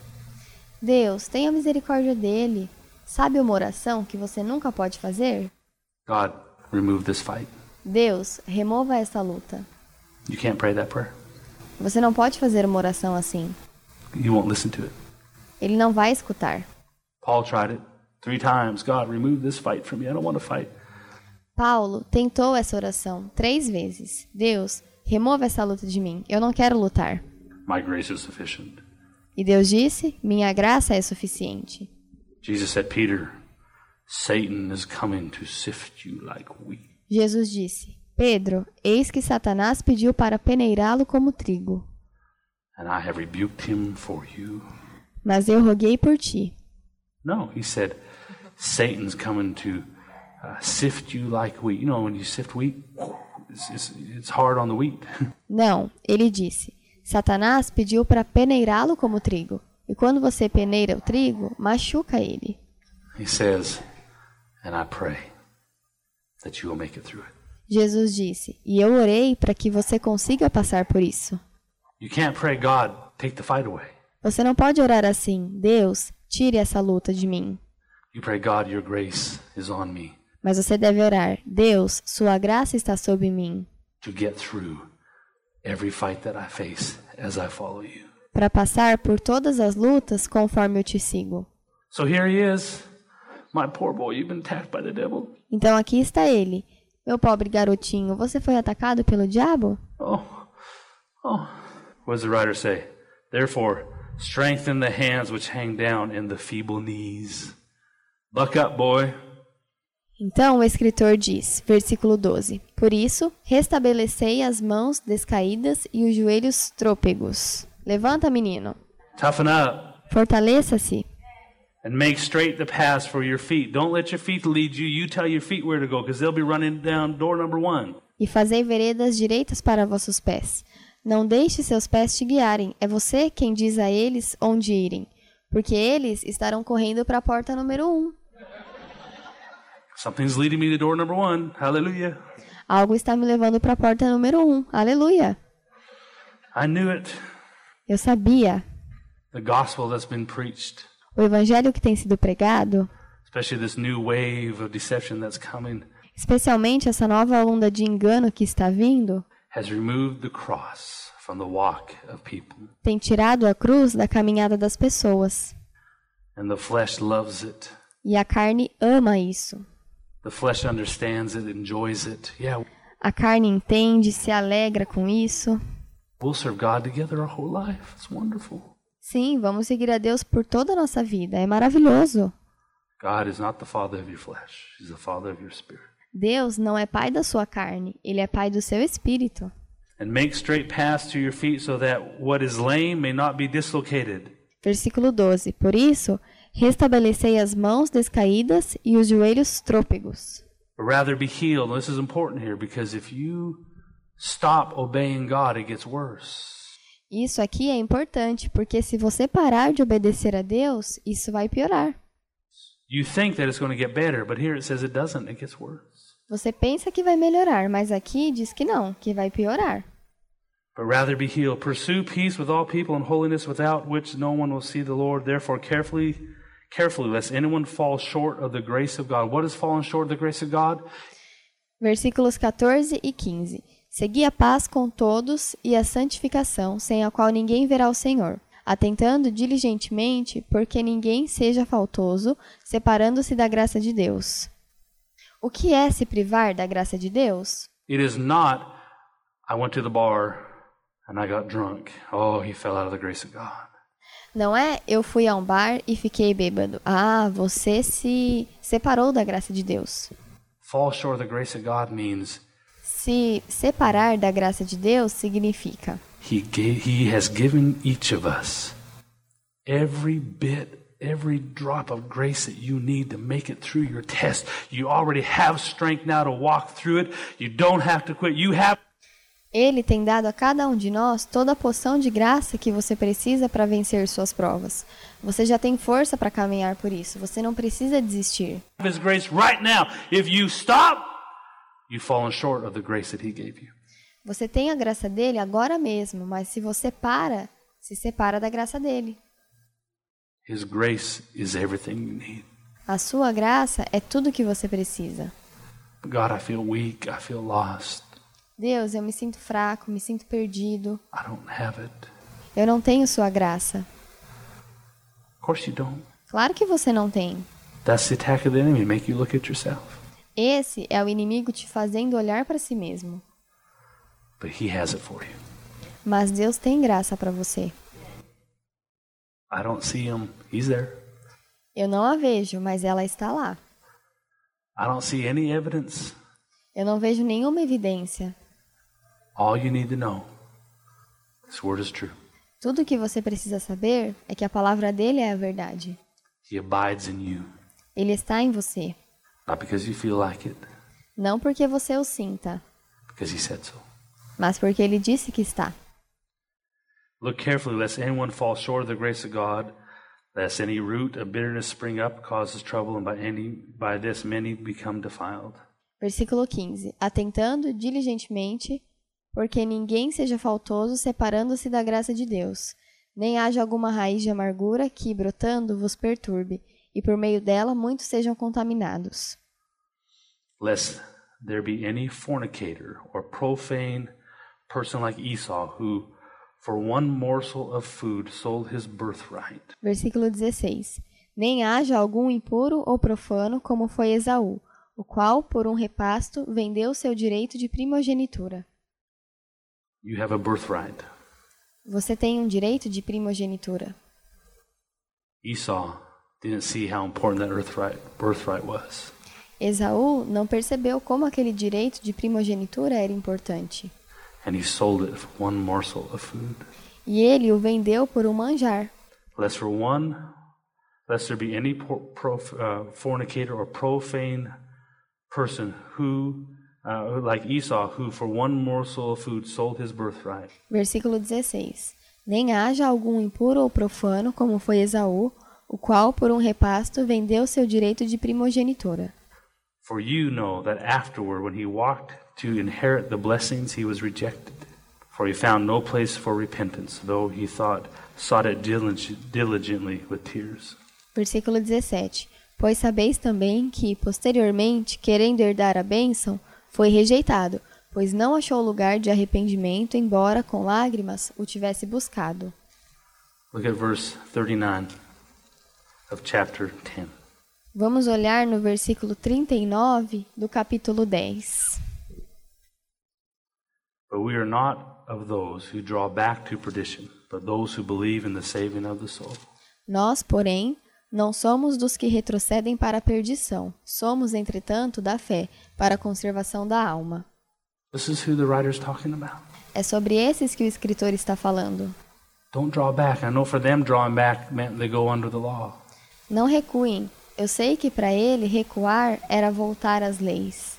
Deus, tenha misericórdia dele. Sabe uma oração que você nunca pode fazer? God, remove this fight. Deus, remova essa luta. You can't pray that prayer. Você não pode fazer uma oração assim. You won't listen to it. Ele não vai escutar. Paul tried it three times. God, remove this fight from me. I don't want to fight. Paulo tentou essa oração três vezes. Deus, remova essa luta de mim. Eu não quero lutar. My grace is sufficient. E Deus disse, minha graça é suficiente. Jesus said, Peter, Satan is coming to sift you like wheat. Jesus disse, Pedro, eis que Satanás pediu para peneirá-lo como trigo. And I have rebuked him for you. Mas eu roguei por ti. No, he said, Satan's coming to uh, sift you like wheat. You know, when you sift wheat, It's, it's, it's hard on the wheat. Não, ele disse. Satanás pediu para peneirá-lo como trigo. E quando você peneira o trigo, machuca ele. He says, and I pray that you will make it through it. Jesus disse, e eu orei para que você consiga passar por isso. You can't pray, God, take the fight away. Você não pode orar assim, Deus, tire essa luta de mim. You pray, God, your grace is on me Mas você deve orar, Deus, sua graça está sobre mim, to get through every fight that I face as I follow you. para passar por todas as lutas conforme eu te sigo. So here he is. My poor boy, you've been attacked by the devil. Então aqui está ele. Meu pobre garotinho, você foi atacado pelo diabo? Oh, oh. What does the writer say? Therefore, strengthen the hands which hang down and the feeble knees. Buck up, boy. Então o escritor diz, versículo doze, por isso, restabelecei as mãos descaídas e os joelhos trôpegos. Levanta, menino. Toughen up. Fortaleça-se. And make straight the paths for your feet. Don't let your feet lead you. You tell your feet where to go, because they'll be running down door number one. E fazei veredas direitas para vossos pés. Não deixe seus pés te guiarem. É você quem diz a eles onde irem. Porque eles estarão correndo para a porta número um. Something's leading me to door number one. Hallelujah. Algo está me levando para a porta número um. Aleluia. I knew it. Eu sabia. The gospel that's been preached, O evangelho que tem sido pregado, especially this new wave of deception that's coming, especialmente essa nova onda de engano que está vindo, has removed the cross from the walk of people. tem tirado a cruz da caminhada das pessoas. And the flesh loves it. E a carne ama isso. The flesh understands it, enjoys it. Yeah, A carne entende, se alegra com isso. we'll serve God together our whole life. It's wonderful. Sim, vamos seguir a Deus por toda a nossa vida. É maravilhoso. God is not the father of your flesh. He's the father of your spirit. Deus não é pai da sua carne, ele é pai do seu espírito. And make straight paths to your feet so that what is lame may not be dislocated. Versículo doze. Por isso, restabelecei as mãos descaídas e os joelhos trôpegos. But rather be healed. This is important here because if you stop obeying God, it gets worse. Isso aqui é importante, porque se você parar de obedecer a Deus, isso vai piorar. You think that it's going to get better, but here it says it doesn't. It gets worse. Você pensa que vai melhorar, mas aqui diz que não, que vai piorar. But rather be healed. Pursue peace with all people and holiness, without which no one will see the Lord. Therefore, carefully, carefully, lest anyone fall short of the grace of God. What is falling short of the grace of God? Versículos quatorze e quinze. Segui a paz com todos e a santificação, sem a qual ninguém verá o Senhor, atentando diligentemente, porque ninguém seja faltoso, separando-se da graça de Deus. O que é se privar da graça de Deus? It is not, I went to the bar and I got drunk. Oh, he fell out of the grace of God. Não é, eu fui a um bar e fiquei bêbado. Ah, você se separou da graça de Deus. Fall short of the grace of God means Se separar da graça de Deus significa He gave, He has given each of us every bit, every drop of grace that you need to make it through your test. You already have strength now to walk through it. You don't have to quit. You have. Ele tem dado a cada um de nós toda a poção de graça que você precisa para vencer suas provas. Você já tem força para caminhar por isso. Você não precisa desistir. His grace right now. If you stop, you've fallen short of the grace that He gave you. Você tem a graça dele agora mesmo, mas se você para, se separa da graça dele. His grace is everything you need. A sua graça é tudo que você precisa. God, I feel weak. I feel lost. Deus, eu me sinto fraco, me sinto perdido. I don't have it. Eu não tenho sua graça. Of course you don't. Claro que você não tem. That's the attack of the enemy, make you look at yourself. Esse é o inimigo te fazendo olhar para si mesmo. But He has it for you. Mas Deus tem graça para você. I don't see Him. He's there. Eu não a vejo, mas ela está lá. I don't see any evidence. Eu não vejo nenhuma evidência. All you need to know, this word is true. Tudo o que você precisa saber é que a palavra dele é a verdade. He abides in you, Ele está em você. not because you feel like it, Não porque você o sinta, because he said so. mas porque ele disse que está. Look carefully, lest anyone fall short of the grace of God, lest any root of bitterness spring up, causes trouble, and by any by this many become defiled. Versículo quinze. Atentando diligentemente, porque ninguém seja faltoso separando-se da graça de Deus, nem haja alguma raiz de amargura que, brotando, vos perturbe, e por meio dela muitos sejam contaminados. Lest there be any fornicator or profane person like Esau, who for one morsel of food sold his birthright. Versículo dezesseis. Nem haja algum impuro ou profano como foi Esaú, o qual, por um repasto, vendeu seu direito de primogenitura. You have a birthright. Você tem um direito de primogenitura. Esau didn't see how important that birthright, birthright was. Esaú não percebeu como aquele direito de primogenitura era importante. And he sold it for one morsel of food. E ele o vendeu por um manjar. Lest for one, lest there be any pro, pro, uh, fornicator or profane person who, uh, like Esau, who for one morsel of food sold his birthright. Versículo dezesseis. Nem haja algum impuro ou profano, como foi Esaú, o qual, por um repasto, vendeu seu direito de primogenitura. For you know that afterward, when he walked to inherit the blessings, he was rejected. For he found no place for repentance, though he thought, sought it diligently with tears. Versículo dezessete. Pois sabeis também que, posteriormente, querendo herdar a bênção, foi rejeitado, pois não achou lugar de arrependimento, embora com lágrimas o tivesse buscado. Look at verse thirty-nine of chapter ten. Vamos olhar no versículo trinta e nove do capítulo dez. But we are not of those who draw back to perdition, but those who believe in the saving of the soul. Nós, porém, não somos dos que retrocedem para a perdição. Somos, entretanto, da fé, para a conservação da alma. This is who the writer is talking about. É sobre esses que o escritor está falando. Don't draw back. I know for them drawing back meant they go under the law. Não recuem. Eu sei que para ele recuar era voltar às leis.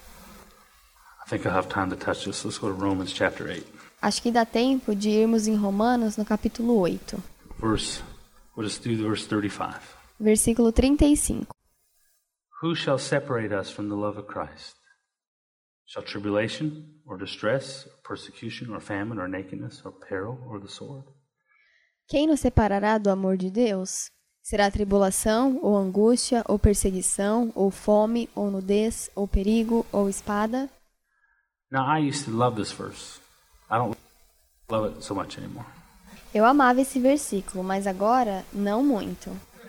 I think I'll have time to touch this. Let's go to Romans chapter eight. Acho que dá tempo de irmos em Romanos no capítulo oito. Verse, we'll just do verse thirty-five. Versículo trinta e cinco. Who shall separate us from the love of Christ? Shall tribulation, or distress, or persecution, or famine, or nakedness, or peril, or the sword? Quem nos separará do amor de Deus? Será tribulação, ou angústia, ou perseguição, ou fome, ou nudez, ou perigo, ou espada? Now, I used to love this verse. I don't love it so much anymore. Eu amava esse versículo, mas agora não muito.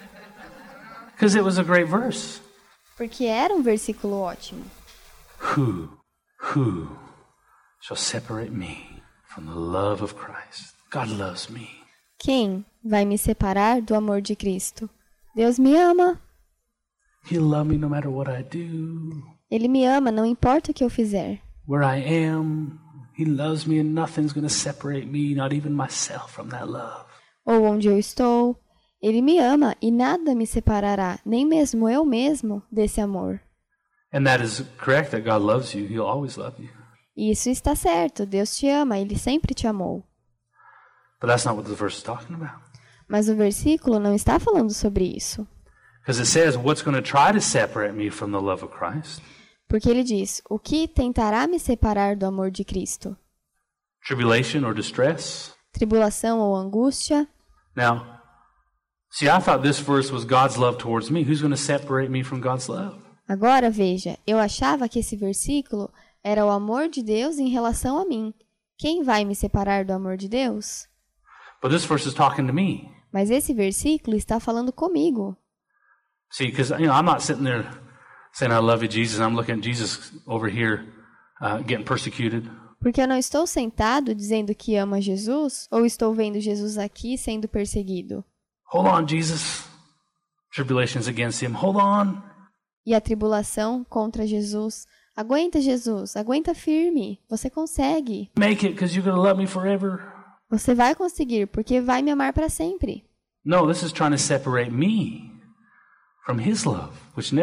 Because it was a great verse. Porque era um versículo ótimo. Who, who shall separate me from the love of Christ? God loves me. Quem vai me separar do amor de Cristo? Deus me ama. He'll love me no matter what I do. Ele me ama, não importa o que eu fizer. Where I am, He loves me and nothing's going to separate me, not even myself, from that love. Ou onde eu estou, Ele me ama e nada me separará, nem mesmo eu mesmo, desse amor. And that is correct, that God loves you. He'll always love you. E isso está certo, Deus te ama, Ele sempre te amou. But that's not what the verse is talking about. Mas o versículo não está falando sobre isso. Because it says, what's going to try to separate me from the love of Christ? Porque ele diz, o que tentará me separar do amor de Cristo? Tribulation or distress? Tribulação ou angústia? Now, see, I thought this verse was God's love towards me. Who's going to separate me from God's love? Agora, veja, eu achava que esse versículo era o amor de Deus em relação a mim. Quem vai me separar do amor de Deus? But this verse is talking to me. Mas esse versículo está falando comigo. See, because you know, I'm not sitting there saying I love you, Jesus, and I'm looking at Jesus over here uh, getting persecuted. Porque eu não estou sentado dizendo que amo a Jesus, ou estou vendo Jesus aqui sendo perseguido. Hold on, Jesus. Tribulation's against him. Hold on. E a tribulação contra Jesus. Aguenta, Jesus. Aguenta firme. Você consegue. Make it, because you're going to love me forever. Você vai conseguir, porque vai me amar para sempre. No, this is trying to separate me from his love, which never...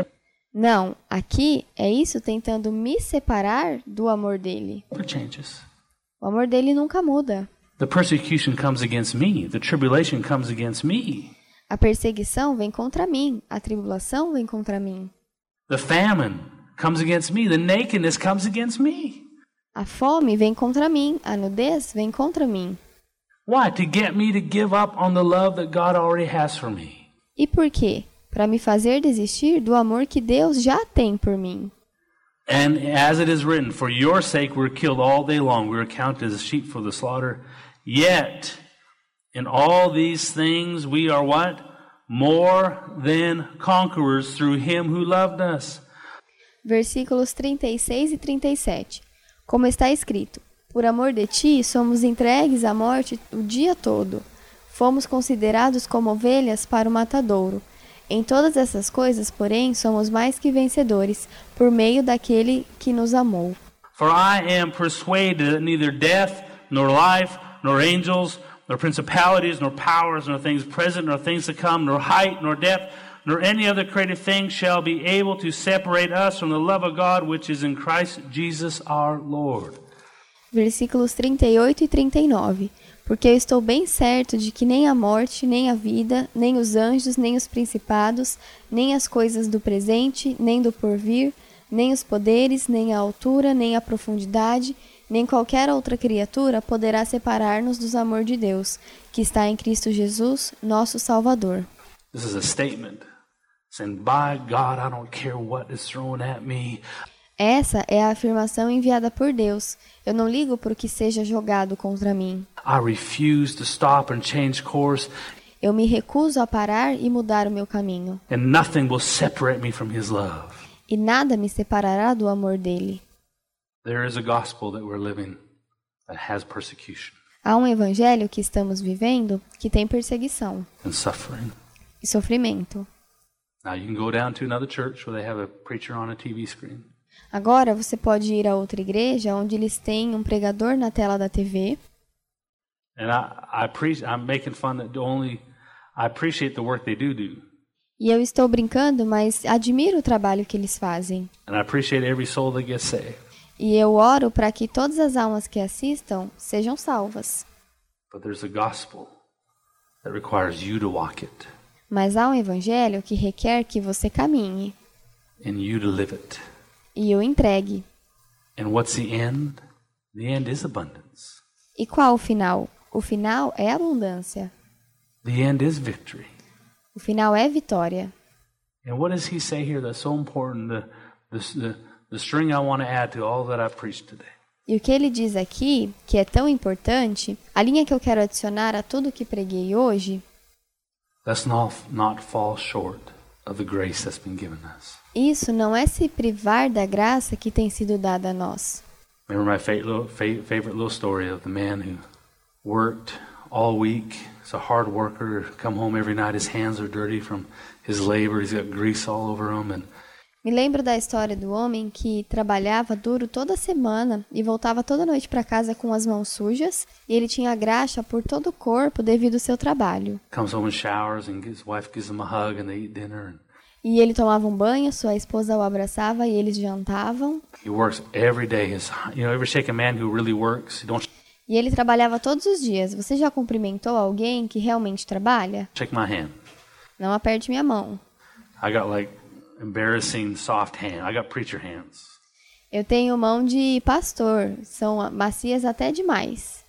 Não, aqui é isso tentando me separar do amor dele. Never changes. O amor dele nunca muda. The persecution comes against me. The tribulation comes against me. A perseguição vem contra mim, a tribulação vem contra mim. The famine comes against me. The nakedness comes against me. A fome vem contra mim, a nudez vem contra mim. Why? To get me to give up on the love that God already has for me. E por quê? Para me fazer desistir do amor que Deus já tem por mim. And as it is written, for your sake we're killed all day long. We're counted as sheep for the slaughter. Yet, in all these things we are what? More than conquerors through him who loved us. Versículos trinta e seis e trinta e sete. Como está escrito, por amor de ti somos entregues à morte o dia todo. Fomos considerados como ovelhas para o matadouro. Em todas essas coisas, porém, somos mais que vencedores, por meio daquele que nos amou. For I am persuaded that neither death, nor life, nor angels, nor principalities, nor powers, nor things present, nor things to come, nor height, nor depth, nor any other created thing shall be able to separate us from the love of God which is in Christ Jesus our Lord. Versículos trinta e oito e trinta e nove. Porque eu estou bem certo de que nem a morte, nem a vida, nem os anjos, nem os principados, nem as coisas do presente, nem do porvir, nem os poderes, nem a altura, nem a profundidade, nem qualquer outra criatura poderá separar-nos do amor de Deus, que está em Cristo Jesus, nosso Salvador. This is a statement saying, by God, I don't care what is thrown at me. Essa é a afirmação enviada por Deus. Eu não ligo por que seja jogado contra mim. I refuse to stop and change course. Eu me recuso a parar e mudar o meu caminho. And nothing will separate me from his love. E nada me separará do amor dele. There is a gospel that we're living that has persecution. Há um evangelho que estamos vivendo que tem perseguição And suffering. e sofrimento. Now you can go down to another church where they have a preacher on a T V screen. Agora você pode ir a outra igreja onde eles têm um pregador na tela da T V. And I, I pre- I'm making fun that only I appreciate the work they do do. E eu estou brincando, mas admiro o trabalho que eles fazem. And I appreciate every soul that gets saved. E eu oro para que todas as almas que assistam sejam salvas. But there's a gospel that requires you to walk it Mas há um evangelho que requer que você caminhe and you to live it. e o entregue. And what's the end? The end is abundance. E qual o final? O final é abundância. The end is victory. O final é vitória. And what does he say here that's so important? The, the, the, the string I want to add to all that I've preached today. E o que ele diz aqui, que é tão importante, a linha que eu quero adicionar a tudo que preguei hoje, Let's not, not fall short of the grace that's been given us. isso não é se privar da graça que tem sido dada a nós. Remember my favorite little, favorite little story of the man who worked all week. He's a hard worker. Come home every night, his hands are dirty from his labor. He's got grease all over him. And Me lembro da história do homem que trabalhava duro toda semana e voltava toda noite para casa com as mãos sujas, e ele tinha graxa por todo o corpo devido ao seu trabalho. comes home and showers, and his wife gives him a hug, and they eat dinner. And E ele tomava um banho, sua esposa o abraçava e eles jantavam. he works every day. His, you know, ever shake a man who really works? You don't E ele trabalhava todos os dias. Você já cumprimentou alguém que realmente trabalha? shake my hand. Não aperte minha mão. I got like embarrassing soft hand. I got preacher hands. Eu tenho mão de pastor. São macias até demais.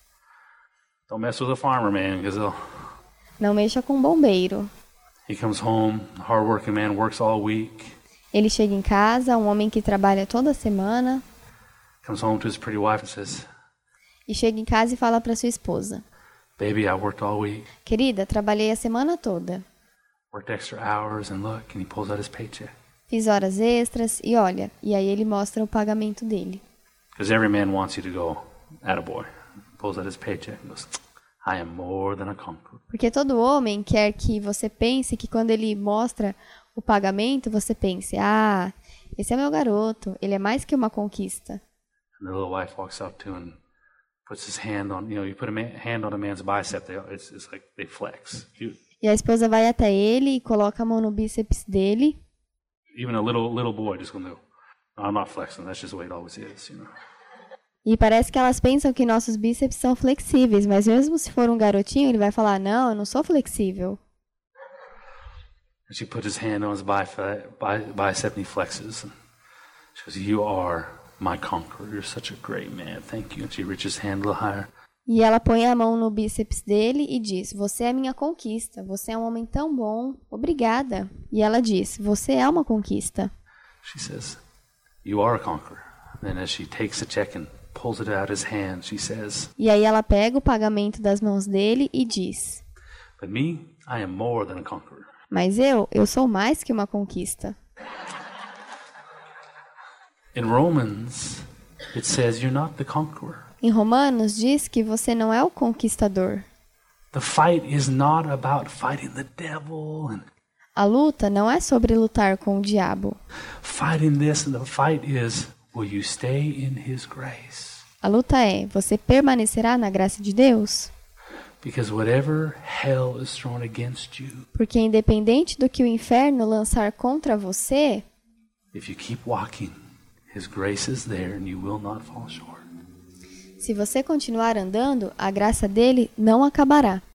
Don't mess with a farmer, man, because they'll... Não mexa com bombeiro. He comes home, a hard-working man, works all week. Ele chega em casa, um homem que trabalha toda semana, Comes home to his pretty wife and says, e chega em casa e fala para sua esposa: baby, I worked all week. querida, trabalhei a semana toda. Worked extra hours, and look, and he pulls out his paycheck. Fiz horas extras e olha, e aí ele mostra o pagamento dele. Because every man wants you to go, attaboy. Pulls out his paycheck and goes, I am more than a conqueror. Porque todo homem quer que você pense que quando ele mostra o pagamento, você pense: ah, esse é meu garoto, ele é mais que uma conquista. And the little wife walks up to him and puts his hand on, you know, you put a man, hand on a man's bicep, they, it's, it's like they flex. You, E a esposa vai até ele e coloca a mão no bíceps dele. Even a little little boy just going to go, I'm not flexing, that's just the way it always is, you know. E parece que elas pensam que nossos bíceps são flexíveis, mas mesmo se for um garotinho, ele vai falar, não, eu não sou flexível. And she put his hand on his bicep, bicep and he flexes. And she goes, you are my conqueror. You're such a great man. Thank you. And she reaches his hand a little higher. E ela põe a mão no bíceps dele e diz, você é minha conquista. Você é um homem tão bom. Obrigada. E ela diz, você é uma conquista. She says, you are a conqueror. Then as she takes the check and pulls it out of his hand, she says, e aí ela pega o pagamento das mãos dele e diz, but me, I am more than a conqueror. Mas eu, eu sou mais que uma conquista. In Romans, it says you're not the conqueror. Em Romanos diz que você não é o conquistador. The fight is not about fighting the devil and a luta não é sobre lutar com o diabo. Fighting this and the fight is, will you stay in his grace? A luta é, você permanecerá na graça de Deus? Because whatever hell is thrown against you, porque independente do que o inferno lançar contra você, if you keep walking, his grace is there and you will not fall short. Se você continuar andando, a graça dele não acabará.